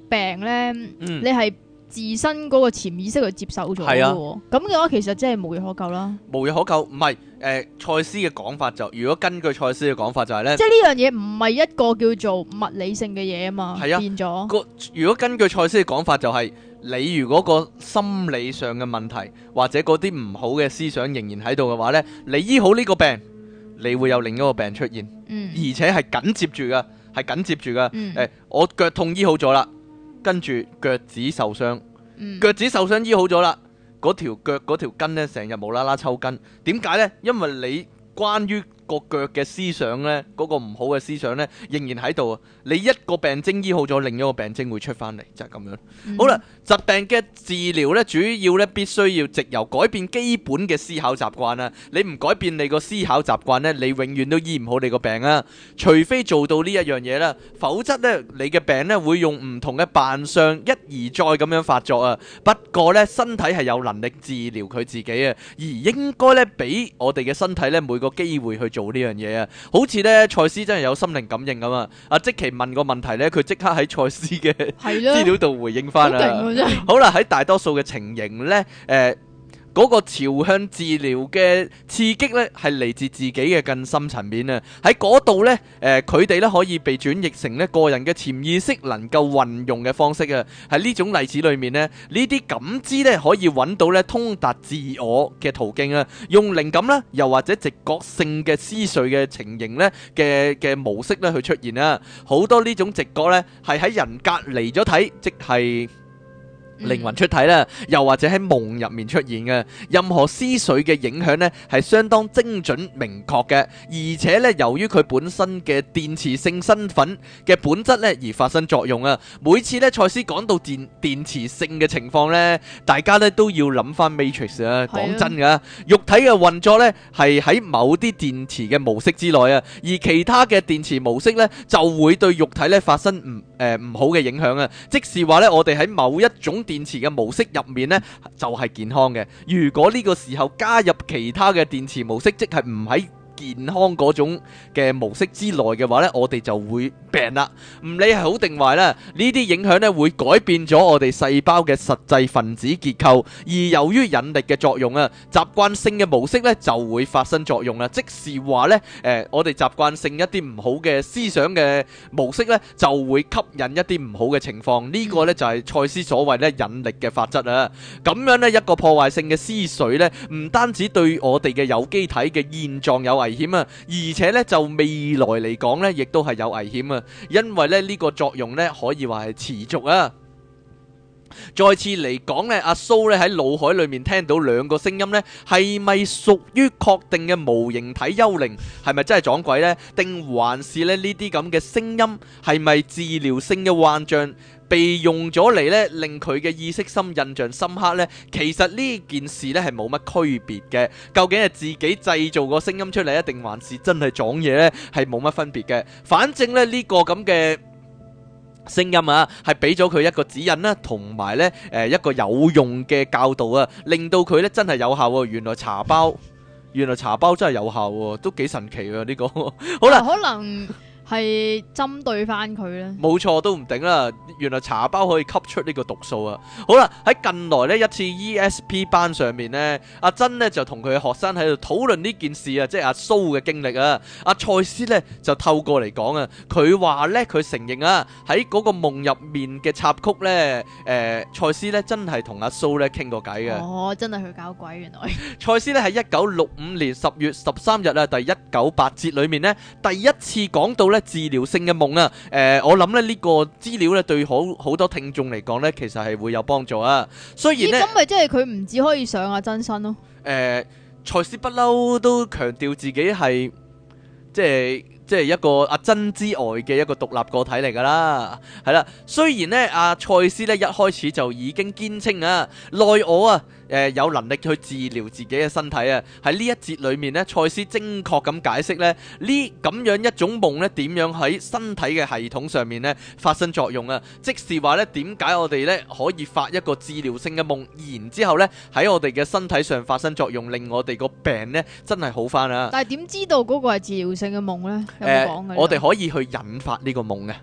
[SPEAKER 1] 病咧，
[SPEAKER 2] 嗯
[SPEAKER 1] 你係自身嗰個潛意識去接受咗嘅
[SPEAKER 2] 係啊
[SPEAKER 1] 喎，咁嘅話其實真係無藥可救啦。
[SPEAKER 2] 無藥可救，唔係誒賽斯嘅講法就，如果根據賽斯嘅講法就係咧
[SPEAKER 1] 即，係呢樣嘢唔係一個叫做物理性嘅嘢啊嘛，
[SPEAKER 2] 係啊
[SPEAKER 1] 變咗。
[SPEAKER 2] 個如果根據賽斯嘅講法就係、你如果個心理上嘅問題或者嗰啲唔好嘅思想仍然喺度嘅話呢，你醫好呢個病，你會有另一個病出現，
[SPEAKER 1] 嗯
[SPEAKER 2] 而且係緊接住噶，係緊接住噶。誒、
[SPEAKER 1] 嗯
[SPEAKER 2] 我腳痛醫好咗啦，跟住腳趾受傷，
[SPEAKER 1] 嗯
[SPEAKER 2] 腳趾受傷醫好咗啦，嗰條腳嗰條筋呢，成日無啦啦抽筋，點解呢？因為你關於個腳嘅思想呢，嗰、個唔好嘅思想呢，仍然喺度啊！你一個病徵醫好咗，另一個病徵會出翻嚟，就係、咁樣。
[SPEAKER 1] 嗯
[SPEAKER 2] 好啦，疾病嘅治療呢，主要呢必須要藉由改變基本嘅思考習慣啊！你唔改變你個思考習慣呢，你永遠都醫唔好你個病啊！除非做到呢一樣嘢啦，否則呢，你嘅病呢會用唔同嘅扮相一而再咁樣發作啊！不過呢，身體係有能力治療佢自己啊，而應該呢，俾我哋嘅身體呢每個機會去做呢樣嘢啊！好似呢，賽斯真係有心靈感應咁啊！阿即奇問個問題呢，佢即刻喺賽斯嘅
[SPEAKER 1] 係啦
[SPEAKER 2] 資料度回應翻
[SPEAKER 1] 好勁
[SPEAKER 2] 啦。
[SPEAKER 1] 喎真係。
[SPEAKER 2] 好啦，喺大多數嘅情形呢，誒、呃。嗰個朝向治療嘅刺激呢，係嚟自自己嘅更深層面啊！喺嗰度呢，誒佢哋呢可以被轉譯成呢個人嘅潛意識能夠運用嘅方式啊！喺呢種例子裏面呢，呢啲感知呢可以揾到呢通達自我嘅途徑啊！用靈感啦，又或者直覺性嘅思緒嘅情形呢嘅嘅模式呢去出現啊！好多呢種直覺呢，係喺人隔離咗體，即係靈魂出體啦，又或者喺夢入面出現嘅任何思緒嘅影響呢，係相當精準明確嘅，而且呢，由於佢本身嘅電磁性身份嘅本質呢，而發生作用啊！每次呢，賽斯講到電電磁性嘅情況呢，大家呢都要諗翻 Matrix 啊！講真噶，肉體嘅運作呢，係喺某啲電磁嘅模式之內啊，而其他嘅電磁模式呢，就會對肉體呢發生唔誒唔好嘅影響啊！即是話呢，我哋喺某一種電磁嘅模式入面呢，就係健康嘅。如果呢個時候加入其他嘅電磁模式，即係唔喺健康嗰種嘅模式之內嘅話呢，我哋就會病啦。唔理係好定壞啦，呢啲影響呢會改變咗我哋細胞嘅實際分子結構，而由於引力嘅作用啊，習慣性嘅模式呢就會發生作用啦。即是話呢，誒、呃，我哋習慣性一啲唔好嘅思想嘅模式呢，就會吸引一啲唔好嘅情況。呢、這個呢就係賽斯所謂呢引力嘅法則啊。咁樣呢，一個破壞性嘅思緒呢，唔單止對我哋嘅有機體嘅現狀有危險啊，而且咧就未來嚟講咧，亦都係有危險啊！因為咧呢個作用咧可以話係持續啊。再次嚟講咧，阿蘇咧喺腦海裏面聽到兩個聲音咧，係咪屬於確定嘅無形體幽靈？係咪真係撞鬼呢？定還是咧呢啲咁嘅聲音係咪治療性嘅幻象？被用咗嚟咧，令佢嘅意識深印象深刻呢？其實呢件事咧係冇乜區別嘅。究竟係自己製造個聲音出嚟，定還是真係撞嘢呢？係冇乜分別嘅。反正咧呢個咁嘅聲音啊，係俾咗佢一個指引啦，同埋呢誒一個有用嘅教導啊，令到佢咧真係有效喎。原來茶包，原來茶包真係有效喎，都幾神奇喎呢個。好啦，
[SPEAKER 1] 可能係針對翻佢咧，
[SPEAKER 2] 冇錯都唔定啦。原來茶包可以吸出呢個毒素啊！好啦，喺近來呢一次 E S P 班上面呢，阿珍呢就同佢嘅學生喺度討論呢件事啊，即係阿蘇嘅經歷啊。阿賽斯呢就透過嚟講啊，佢話呢，佢承認啊，喺嗰個夢入面嘅插曲呢，誒、呃、賽斯呢真係同阿蘇呢傾過偈嘅。
[SPEAKER 1] 哦，真係佢搞鬼原來。
[SPEAKER 2] 賽斯呢喺一九六五年十月十三日啊，第一九八節裏面呢，第一次講到呢治療性嘅夢啊。誒、呃，我諗咧呢個資料呢對好好多聽眾嚟講呢，其實係會有幫助啊。雖然呢，
[SPEAKER 1] 咁咪即係佢唔只可以上阿真身咯。
[SPEAKER 2] 誒，賽斯不嬲都強調自己係即係即係一個阿珍之外嘅一個獨立個體嚟噶啦，係啦。雖然呢，阿賽斯呢一開始就已經堅稱啊，內我啊。誒、呃、有能力去治療自己嘅身體啊！喺呢一節裏面呢，賽斯精確咁解釋呢，呢咁樣一種夢呢點樣喺身體嘅系統上面呢發生作用啊！即是話呢，點解我哋呢可以發一個治療性嘅夢，然之後呢喺我哋嘅身體上發生作用，令我哋個病呢真係好翻啊！
[SPEAKER 1] 但係點知道嗰個係治療性嘅夢呢？有冇講嘅？
[SPEAKER 2] 我哋可以去引發呢個夢嘅。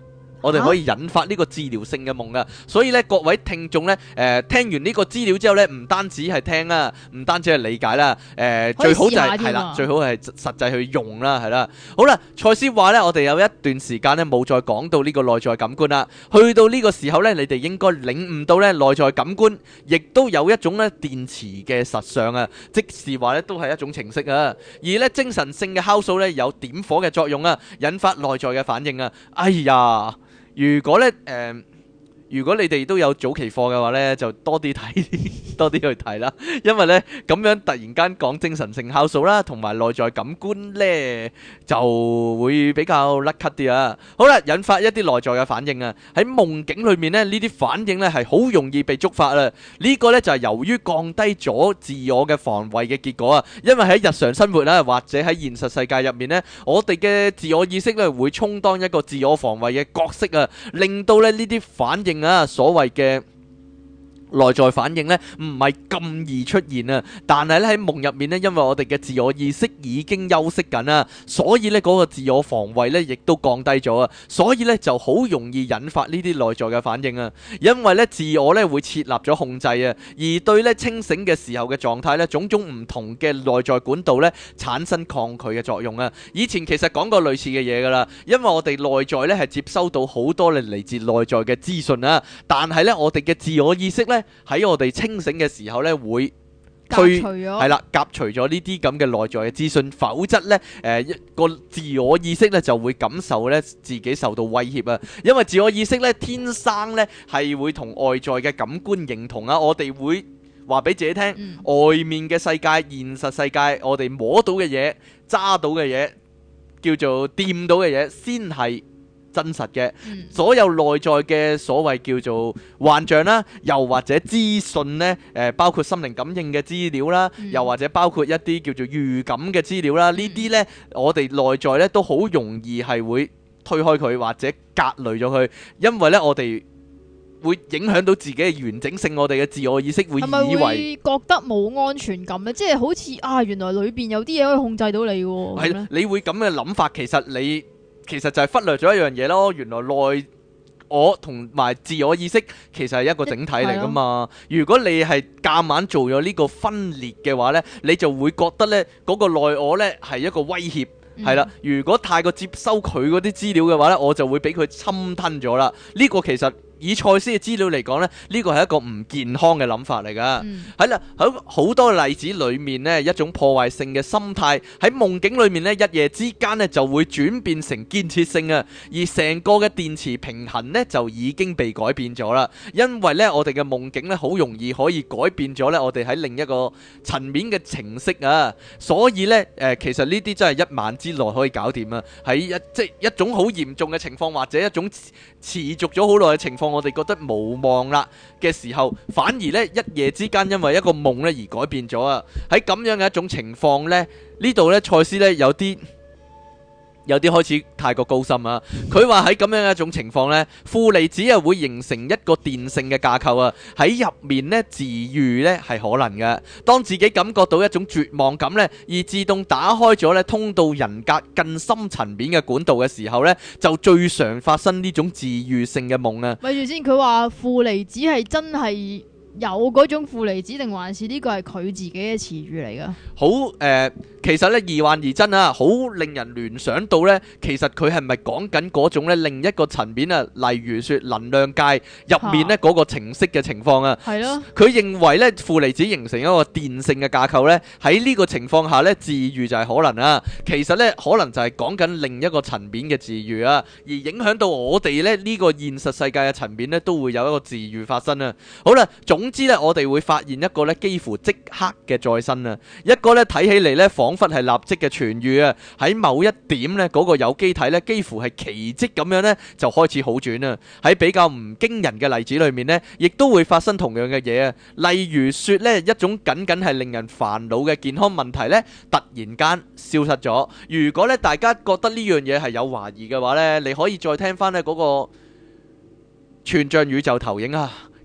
[SPEAKER 2] 我哋可以引發呢個治療性嘅夢啊。所以咧，各位聽眾咧，誒、呃、聽完呢個資料之後咧，唔單止係聽啦，唔單止係理解啦，誒、呃、最好就係係啦，最好係實際去用啦，係啦。好啦，賽斯話咧，我哋有一段時間咧冇再講到呢個內在感官啦。去到呢個時候咧，你哋應該領悟到咧內在感官，亦都有一種咧電磁嘅實相啊，即是話咧都係一種程式啊。而咧精神性嘅酵素咧有點火嘅作用啊，引發內在嘅反應啊。哎呀，如果咧誒。呃如果你哋都有早期課嘅話呢，就多啲睇，多啲去睇啦。因為呢，咁樣突然間講精神性酵素啦，同埋內在感官呢，就會比較甩咳啲啊。好啦，引發一啲內在嘅反應啊。喺夢境裏面呢，呢啲反應呢係好容易被觸發啊。呢個呢就係由於降低咗自我嘅防衛嘅結果啊。因為喺日常生活啦，或者喺現實世界入面呢，我哋嘅自我意識呢會充當一個自我防衛嘅角色啊，令到咧呢啲反應啊，所謂嘅內在反應呢，唔係咁易出現啊！但係咧喺夢入面呢，因為我哋嘅自我意識已經休息緊啦，所以呢嗰個自我防衛呢亦都降低咗啊！所以呢就好容易引發呢啲內在嘅反應啊！因為呢自我呢會設立咗控制啊，而對呢清醒嘅時候嘅狀態呢，種種唔同嘅內在管道呢產生抗拒嘅作用啊！以前其實講過類似嘅嘢噶啦，因為我哋內在呢係接收到好多嚟嚟自內在嘅資訊啊，但係呢我哋嘅自我意識呢。喺我哋清醒嘅時候呢，會推係啦，夾除咗呢啲咁嘅內在嘅資訊，否則呢，誒、呃、一個自我意識呢就會感受呢自己受到威脅啊！因為自我意識呢天生呢係會同外在嘅感官認同啊，我哋會話俾自己聽，嗯、外面嘅世界、現實世界，我哋摸到嘅嘢、揸到嘅嘢，叫做掂到嘅嘢，先係真實嘅。所有內在嘅所謂叫做幻象啦，又或者資訊呢，誒包括心靈感應嘅資料啦，又或者包括一啲叫做預感嘅資料啦，呢啲呢，我哋內在呢都好容易係會推開佢或者隔離咗佢，因為呢我哋會影響到自己嘅完整性，我哋嘅自我意識會以為係咪會
[SPEAKER 1] 覺得冇安全感咧？即係好似啊，原來裏邊有啲嘢可以控制到你喎。係啦，
[SPEAKER 2] 你會咁嘅諗法，其實你其實就係忽略咗一樣嘢咯。原來內我同埋自我意識其實係一個整體嚟噶嘛。如果你係夾硬做咗呢個分裂嘅話呢，你就會覺得呢嗰個內我呢係一個威脅。係啦，如果太過接收佢嗰啲資料嘅話呢，我就會俾佢侵吞咗啦。呢個其實以賽斯嘅資料嚟講呢，呢個係一個唔健康嘅諗法嚟噶。係啦、嗯，喺好多例子裏面呢，一種破壞性嘅心態喺夢境裏面呢，一夜之間呢就會轉變成建設性啊，而成個嘅電磁平衡呢就已經被改變咗啦。因為呢，我哋嘅夢境呢好容易可以改變咗呢，我哋喺另一個層面嘅程式啊，所以呢，誒、呃，其實呢啲真係一晚之內可以搞掂啊。喺一即係一種好嚴重嘅情況，或者一種持續咗好耐嘅情況，我哋覺得無望啦嘅時候，反而呢一夜之間因為一個夢呢而改變咗啊！喺咁樣嘅一種情況呢，呢度呢賽斯呢有啲有啲開始太過高深啊！佢話喺咁樣嘅一種情況呢，負離子啊會形成一個電性嘅架構啊，喺入面呢治癒呢係可能嘅。當自己感覺到一種絕望感呢，而自動打開咗呢通到人格更深層面嘅管道嘅時候呢，就最常發生呢種治癒性嘅夢啊！
[SPEAKER 1] 咪住先，佢話負離子係真係有嗰種負離子，定還是呢個係佢自己嘅詞語嚟噶？
[SPEAKER 2] 好誒、呃，其實咧疑幻疑真啊，好令人聯想到咧，其實佢係咪講緊嗰種咧另一個層面啊？例如說能量界入面咧嗰個程式嘅情況啊，係咯。佢認為咧負離子形成一個電性嘅架構咧，喺呢個情況下咧治癒就係可能啊。其實咧可能就係講緊另一個層面嘅治癒啊，而影響到我哋咧呢個現實世界嘅層面咧都會有一個治癒發生啊。好啦，總之咧我哋會發現一個咧幾乎即刻嘅再生啊，一個咧睇起嚟咧仿佛係立即嘅痊癒啊，喺某一點咧嗰個有機體咧幾乎係奇蹟咁樣咧就開始好轉啊。喺比較唔驚人嘅例子裏面咧，亦都會發生同樣嘅嘢啊。例如說咧一種僅僅係令人煩惱嘅健康問題咧，突然間消失咗。如果咧大家覺得呢樣嘢係有懷疑嘅話咧，你可以再聽翻咧嗰個全像宇宙投影啊。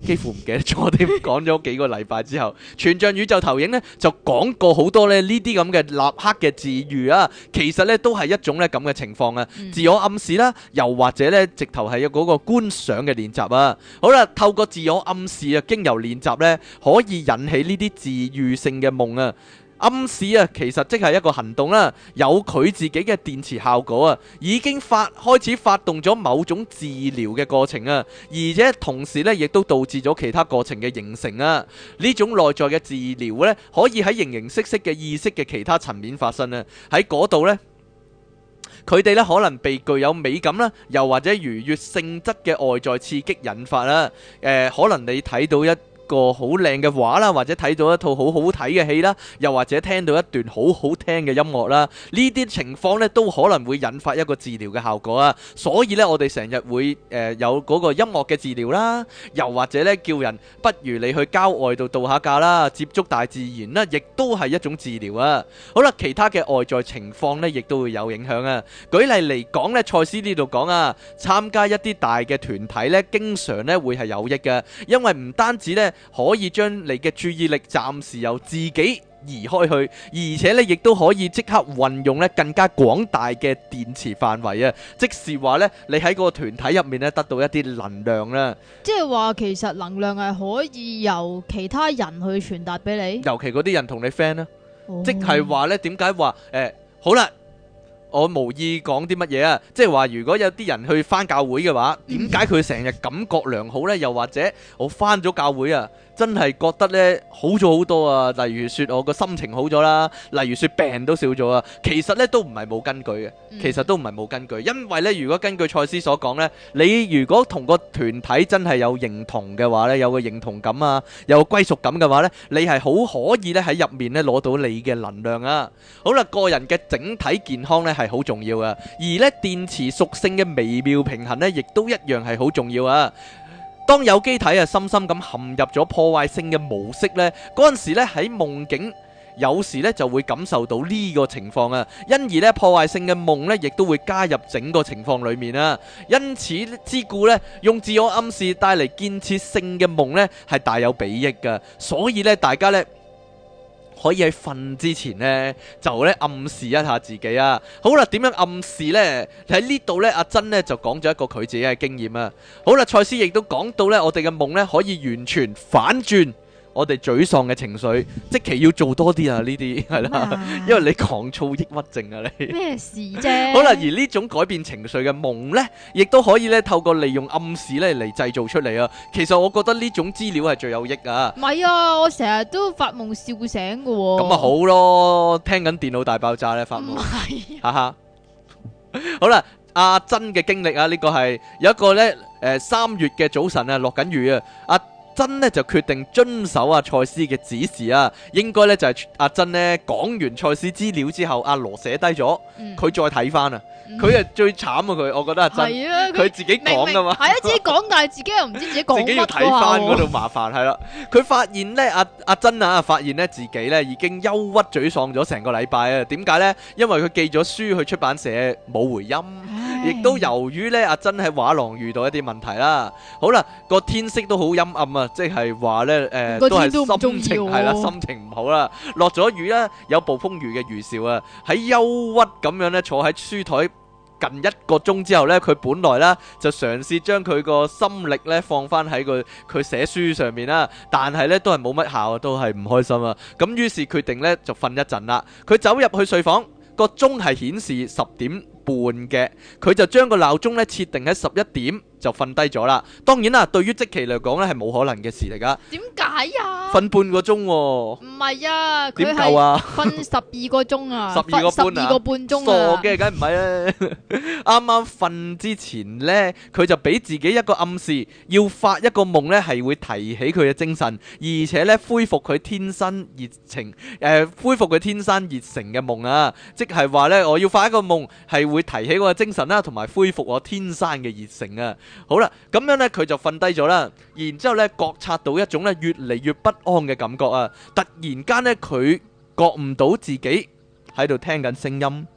[SPEAKER 2] 幾乎唔記得咗添，講咗幾個禮拜之後，全像宇宙投影呢就講過好多咧呢啲咁嘅立刻嘅治愈啊，其實呢都係一種咧咁嘅情況啊，
[SPEAKER 1] 嗯
[SPEAKER 2] 自我暗示啦，又或者呢直頭係有嗰個觀想嘅練習啊。好啦，透過自我暗示啊，經由練習呢，可以引起呢啲治愈性嘅夢啊。暗示啊，其實即係一個行動啦，有佢自己嘅電磁效果啊，已經發開始發動咗某種治療嘅過程啊，而且同時咧，亦都導致咗其他過程嘅形成啊。呢種內在嘅治療咧，可以喺形形色色嘅意識嘅其他層面發生啊。喺嗰度呢，佢哋咧可能被具有美感啦，又或者愉悅性質嘅外在刺激引發啦。誒、呃，可能你睇到一個好靚嘅畫啦，或者睇到一套好好睇嘅戲啦，又或者聽到一段好好聽嘅音樂啦，呢啲情況呢都可能會引發一個治療嘅效果啊。所以呢，我哋成日會誒、呃、有嗰個音樂嘅治療啦，又或者呢叫人不如你去郊外度度下假啦，接觸大自然啦，亦都係一種治療啊。好啦，其他嘅外在情況呢，亦都會有影響啊。舉例嚟講呢，賽斯呢度講啊，參加一啲大嘅團體呢，經常呢會係有益嘅，因為唔單止呢可以將你嘅注意力暫時由自己移開去，而且咧亦都可以即刻運用咧更加廣大嘅電磁範圍啊！即是話咧，你喺嗰個團體入面咧得到一啲能量啦。
[SPEAKER 1] 即係話其實能量係可以由其他人去傳達俾你，
[SPEAKER 2] 尤其嗰啲人同你 friend 啦，
[SPEAKER 1] 哦
[SPEAKER 2] 即係話咧點解話誒好啦？我無意講啲乜嘢啊，即係話如果有啲人去返教會嘅話，點解佢成日感覺良好呢？又或者我返咗教會啊，真係覺得呢好咗好多啊！例如說我個心情好咗啦，例如說病都少咗啊。其實呢都唔係冇根據嘅，其實都唔係冇根據，因為呢如果根據賽斯所講呢，你如果同個團體真係有認同嘅話呢，有個認同感啊，有個歸屬感嘅話呢，你係好可以呢喺入面呢攞到你嘅能量啊。好啦，個人嘅整體健康呢係好重要啊，而呢電磁屬性嘅微妙平衡呢，亦都一樣係好重要啊。當有機體啊深深咁陷入咗破壞性嘅模式呢，嗰陣時呢喺夢境有時呢就會感受到呢個情況啊，因而呢破壞性嘅夢呢亦都會加入整個情況裏面啊。因此之故呢，用自我暗示帶嚟建設性嘅夢呢係大有裨益噶，所以呢大家呢可以喺瞓之前呢，就咧暗示一下自己啊。好啦，點樣暗示呢？喺呢度呢，阿珍呢就講咗一個佢自己嘅經驗啊。好啦，賽斯亦都講到呢，我哋嘅夢呢可以完全反轉我哋沮喪嘅情緒，即期要做多啲啊！呢啲係啦，因為你狂躁抑鬱症啊，你
[SPEAKER 1] 咩事啫？
[SPEAKER 2] 好啦，而呢種改變情緒嘅夢呢，亦都可以咧透過利用暗示咧嚟製造出嚟啊。其實我覺得呢種資料係最有益啊。
[SPEAKER 1] 唔係啊，我成日都發夢笑醒㗎喎。
[SPEAKER 2] 咁啊好咯，聽緊電腦大爆炸咧發夢，
[SPEAKER 1] 唔係
[SPEAKER 2] 哈哈。好啦，阿珍嘅經歷啊，呢個係有一個咧誒三月嘅早晨啊，落緊雨啊，阿珍呢就決定遵守阿賽斯嘅指示啊，應該呢就係阿珍呢講完賽斯資料之後，阿羅寫低咗，佢再睇翻啊，佢係最慘啊佢，我覺得阿珍，佢自己講噶嘛，
[SPEAKER 1] 係啊自己講，但係自己又唔知自己講乜，
[SPEAKER 2] 自己要睇翻嗰度麻煩係啦，佢發現呢，阿阿珍啊，發現呢自己呢已經憂鬱沮喪咗成個禮拜啊，點解呢？因為佢寄咗書去出版社冇回音。亦都由於咧，阿珍喺畫廊遇到一啲問題啦。好啦，個天色都好陰暗啊，即係話咧，誒都係心情係啦，心情唔好啦。落咗雨啦，有暴風雨嘅預兆啊。喺憂鬱咁樣咧，坐喺書台近一個鐘之後咧，佢本來咧就嘗試將佢個心力咧放翻喺佢佢寫書上面啦，但係咧都係冇乜效啊，都係唔開心啊。咁於是決定咧就瞓一陣啦。佢走入去睡房，個鐘係顯示十點半嘅，佢就將個鬧鐘咧設定喺十一點就瞓低咗啦。當然啦，對於即期嚟講咧係冇可能嘅事嚟噶。
[SPEAKER 1] 點解啊？
[SPEAKER 2] 瞓半個鐘喎。
[SPEAKER 1] 唔係啊，
[SPEAKER 2] 點夠啊？
[SPEAKER 1] 瞓十二個鐘啊，
[SPEAKER 2] 十二個半啊，
[SPEAKER 1] 十二個半鐘啊。
[SPEAKER 2] 傻嘅，梗唔係啦。啱啱瞓之前咧，佢就俾自己一個暗示，要發一個夢咧係會提起佢嘅精神，而且咧恢復佢天生熱情，誒恢復佢天生熱誠嘅夢啊！即係話咧，我要發一個夢係會提起我嘅精神啦，同埋恢復我天生嘅熱誠啊！好啦，咁樣咧佢就瞓低咗啦，然之後咧覺察到一種咧越嚟越不安嘅感覺啊！突然間咧佢覺唔到自己喺度聽緊聲音，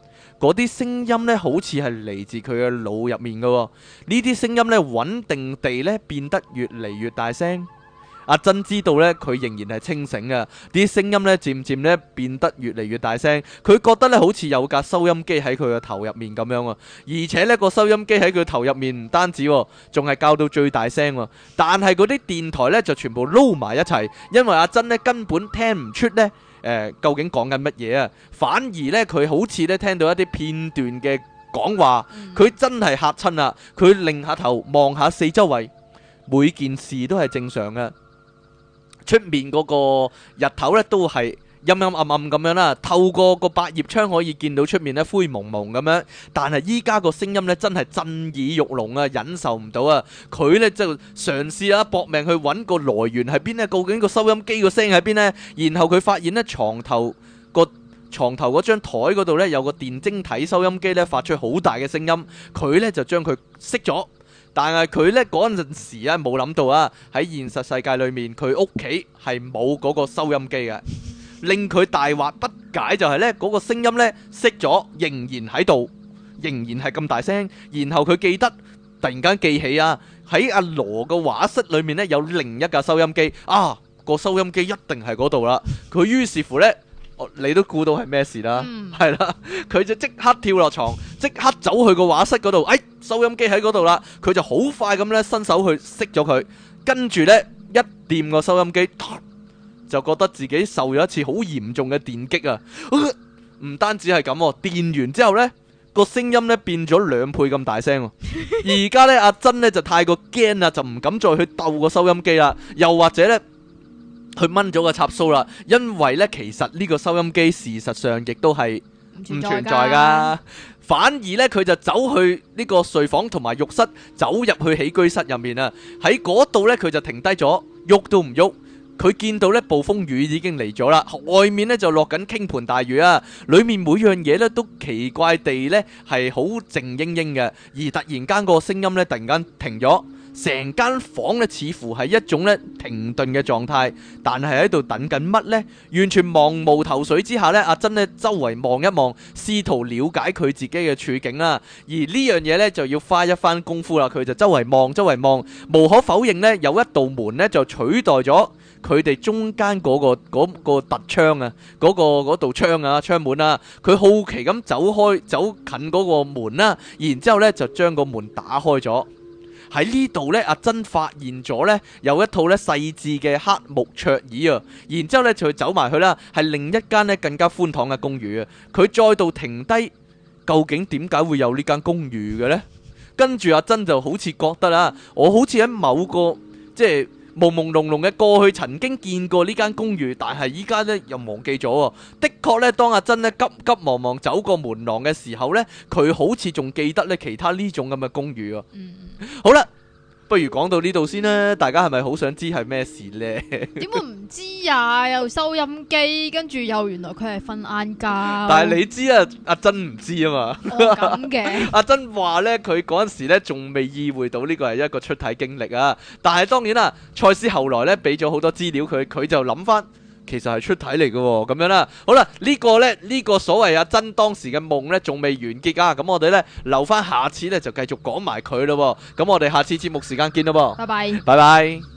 [SPEAKER 2] 嗰啲聲音呢好似係嚟自佢嘅腦入面嘅喎。呢啲聲音呢穩定地呢變得越嚟越大聲。阿珍知道呢，佢仍然係清醒嘅，啲聲音呢漸漸呢變得越嚟越大聲。佢覺得呢好似有架收音機喺佢嘅頭入面咁樣啊，而且呢個收音機喺佢頭入面唔單止，仲係校到最大聲。但係嗰啲電台呢就全部撈埋一齊，因為阿珍呢根本聽唔出呢誒、呃、究竟講緊乜嘢啊，反而呢，佢好似呢聽到一啲片段嘅講話，佢真係嚇親啦！佢擰下頭望下四周圍，每件事都係正常嘅。出面嗰個日頭咧都係陰陰暗暗咁樣啦，透過個百葉窗可以見到出面咧灰蒙蒙咁樣。但係依家個聲音咧真係震耳欲聾啊，忍受唔到啊！佢咧就嘗試啊搏命去揾個來源喺邊呢，究竟個收音機個聲喺邊呢？然後佢發現咧床頭個床頭嗰張台嗰度咧有個電晶體收音機咧發出好大嘅聲音，佢咧就將佢熄咗。但係佢呢嗰陣時啊冇諗到啊，喺現實世界裏面佢屋企係冇嗰個收音機嘅，令佢大惑不解就係呢嗰個聲音呢熄咗，仍然喺度，仍然係咁大聲。然後佢記得突然間記起啊，喺阿羅個畫室裏面呢有另一架收音機啊，個收音機一定係嗰度啦。佢於是乎呢，你都估到係咩事啦，係啦、嗯，佢就即刻跳落床，即刻走去個畫室嗰度，哎，收音機喺嗰度啦，佢就好快咁咧伸手去熄咗佢，跟住呢，一掂個收音機，就覺得自己受咗一次好嚴重嘅電擊啊！唔單止係咁，電完之後呢，個聲音呢變咗兩倍咁大聲，而家呢，阿珍呢就太過驚啦，就唔敢再去鬥個收音機啦，又或者呢。佢掹咗個插蘇啦，因為呢，其實呢個收音機事實上亦都係唔存在噶，反而呢，佢就走去呢個睡房同埋浴室，走入去起居室入面啊，喺嗰度呢，佢就停低咗，喐都唔喐。佢見到呢暴風雨已經嚟咗啦，外面呢就落緊傾盆大雨啊，裏面每樣嘢呢都奇怪地呢係好靜英英嘅，而突然間個聲音呢突然間停咗。成間房咧似乎係一種咧停頓嘅狀態，但係喺度等緊乜呢？完全茫無頭緒之下咧，阿珍咧周圍望一望，試圖了解佢自己嘅處境啦。而呢樣嘢咧就要花一番功夫啦。佢就周圍望，周圍望，無可否認咧，有一道門咧就取代咗佢哋中間嗰個嗰個突窗啊，嗰個嗰道窗啊，窗門啊。佢好奇咁走開，走近嗰個門啦，然之後咧就將個門打開咗。喺呢度呢，阿珍發現咗呢有一套呢細緻嘅黑木桌椅啊，然之後呢就走埋去啦，係另一間呢更加寬敞嘅公寓啊。佢再度停低，究竟點解會有呢間公寓嘅呢？跟住阿珍就好似覺得啦，我好似喺某個即係朦朦朧朧嘅過去曾經見過呢間公寓，但係依家呢又忘記咗。的確呢，當阿珍呢急急忙忙走過門廊嘅時候呢，佢好似仲記得呢其他呢種咁嘅公寓啊。嗯，好啦，不如講到呢度先啦。大家係咪好想知係咩事呢？
[SPEAKER 1] 點會唔知啊？又收音機，跟住又原來佢係瞓晏覺。
[SPEAKER 2] 但係你知啊，阿珍唔知啊嘛。
[SPEAKER 1] 哦，咁嘅。
[SPEAKER 2] 阿珍話呢，佢嗰陣時呢仲未意會到呢個係一個出體經歷啊。但係當然啦，賽斯後來呢俾咗好多資料佢，佢就諗翻。其實係出體嚟嘅喎，咁樣啦。好啦，呢個呢，呢個所謂阿珍當時嘅夢呢，仲未完結啊。咁我哋呢，留翻下次呢，就繼續講埋佢咯。咁我哋下次節目時間見咯噃。
[SPEAKER 1] 拜拜。
[SPEAKER 2] 拜拜。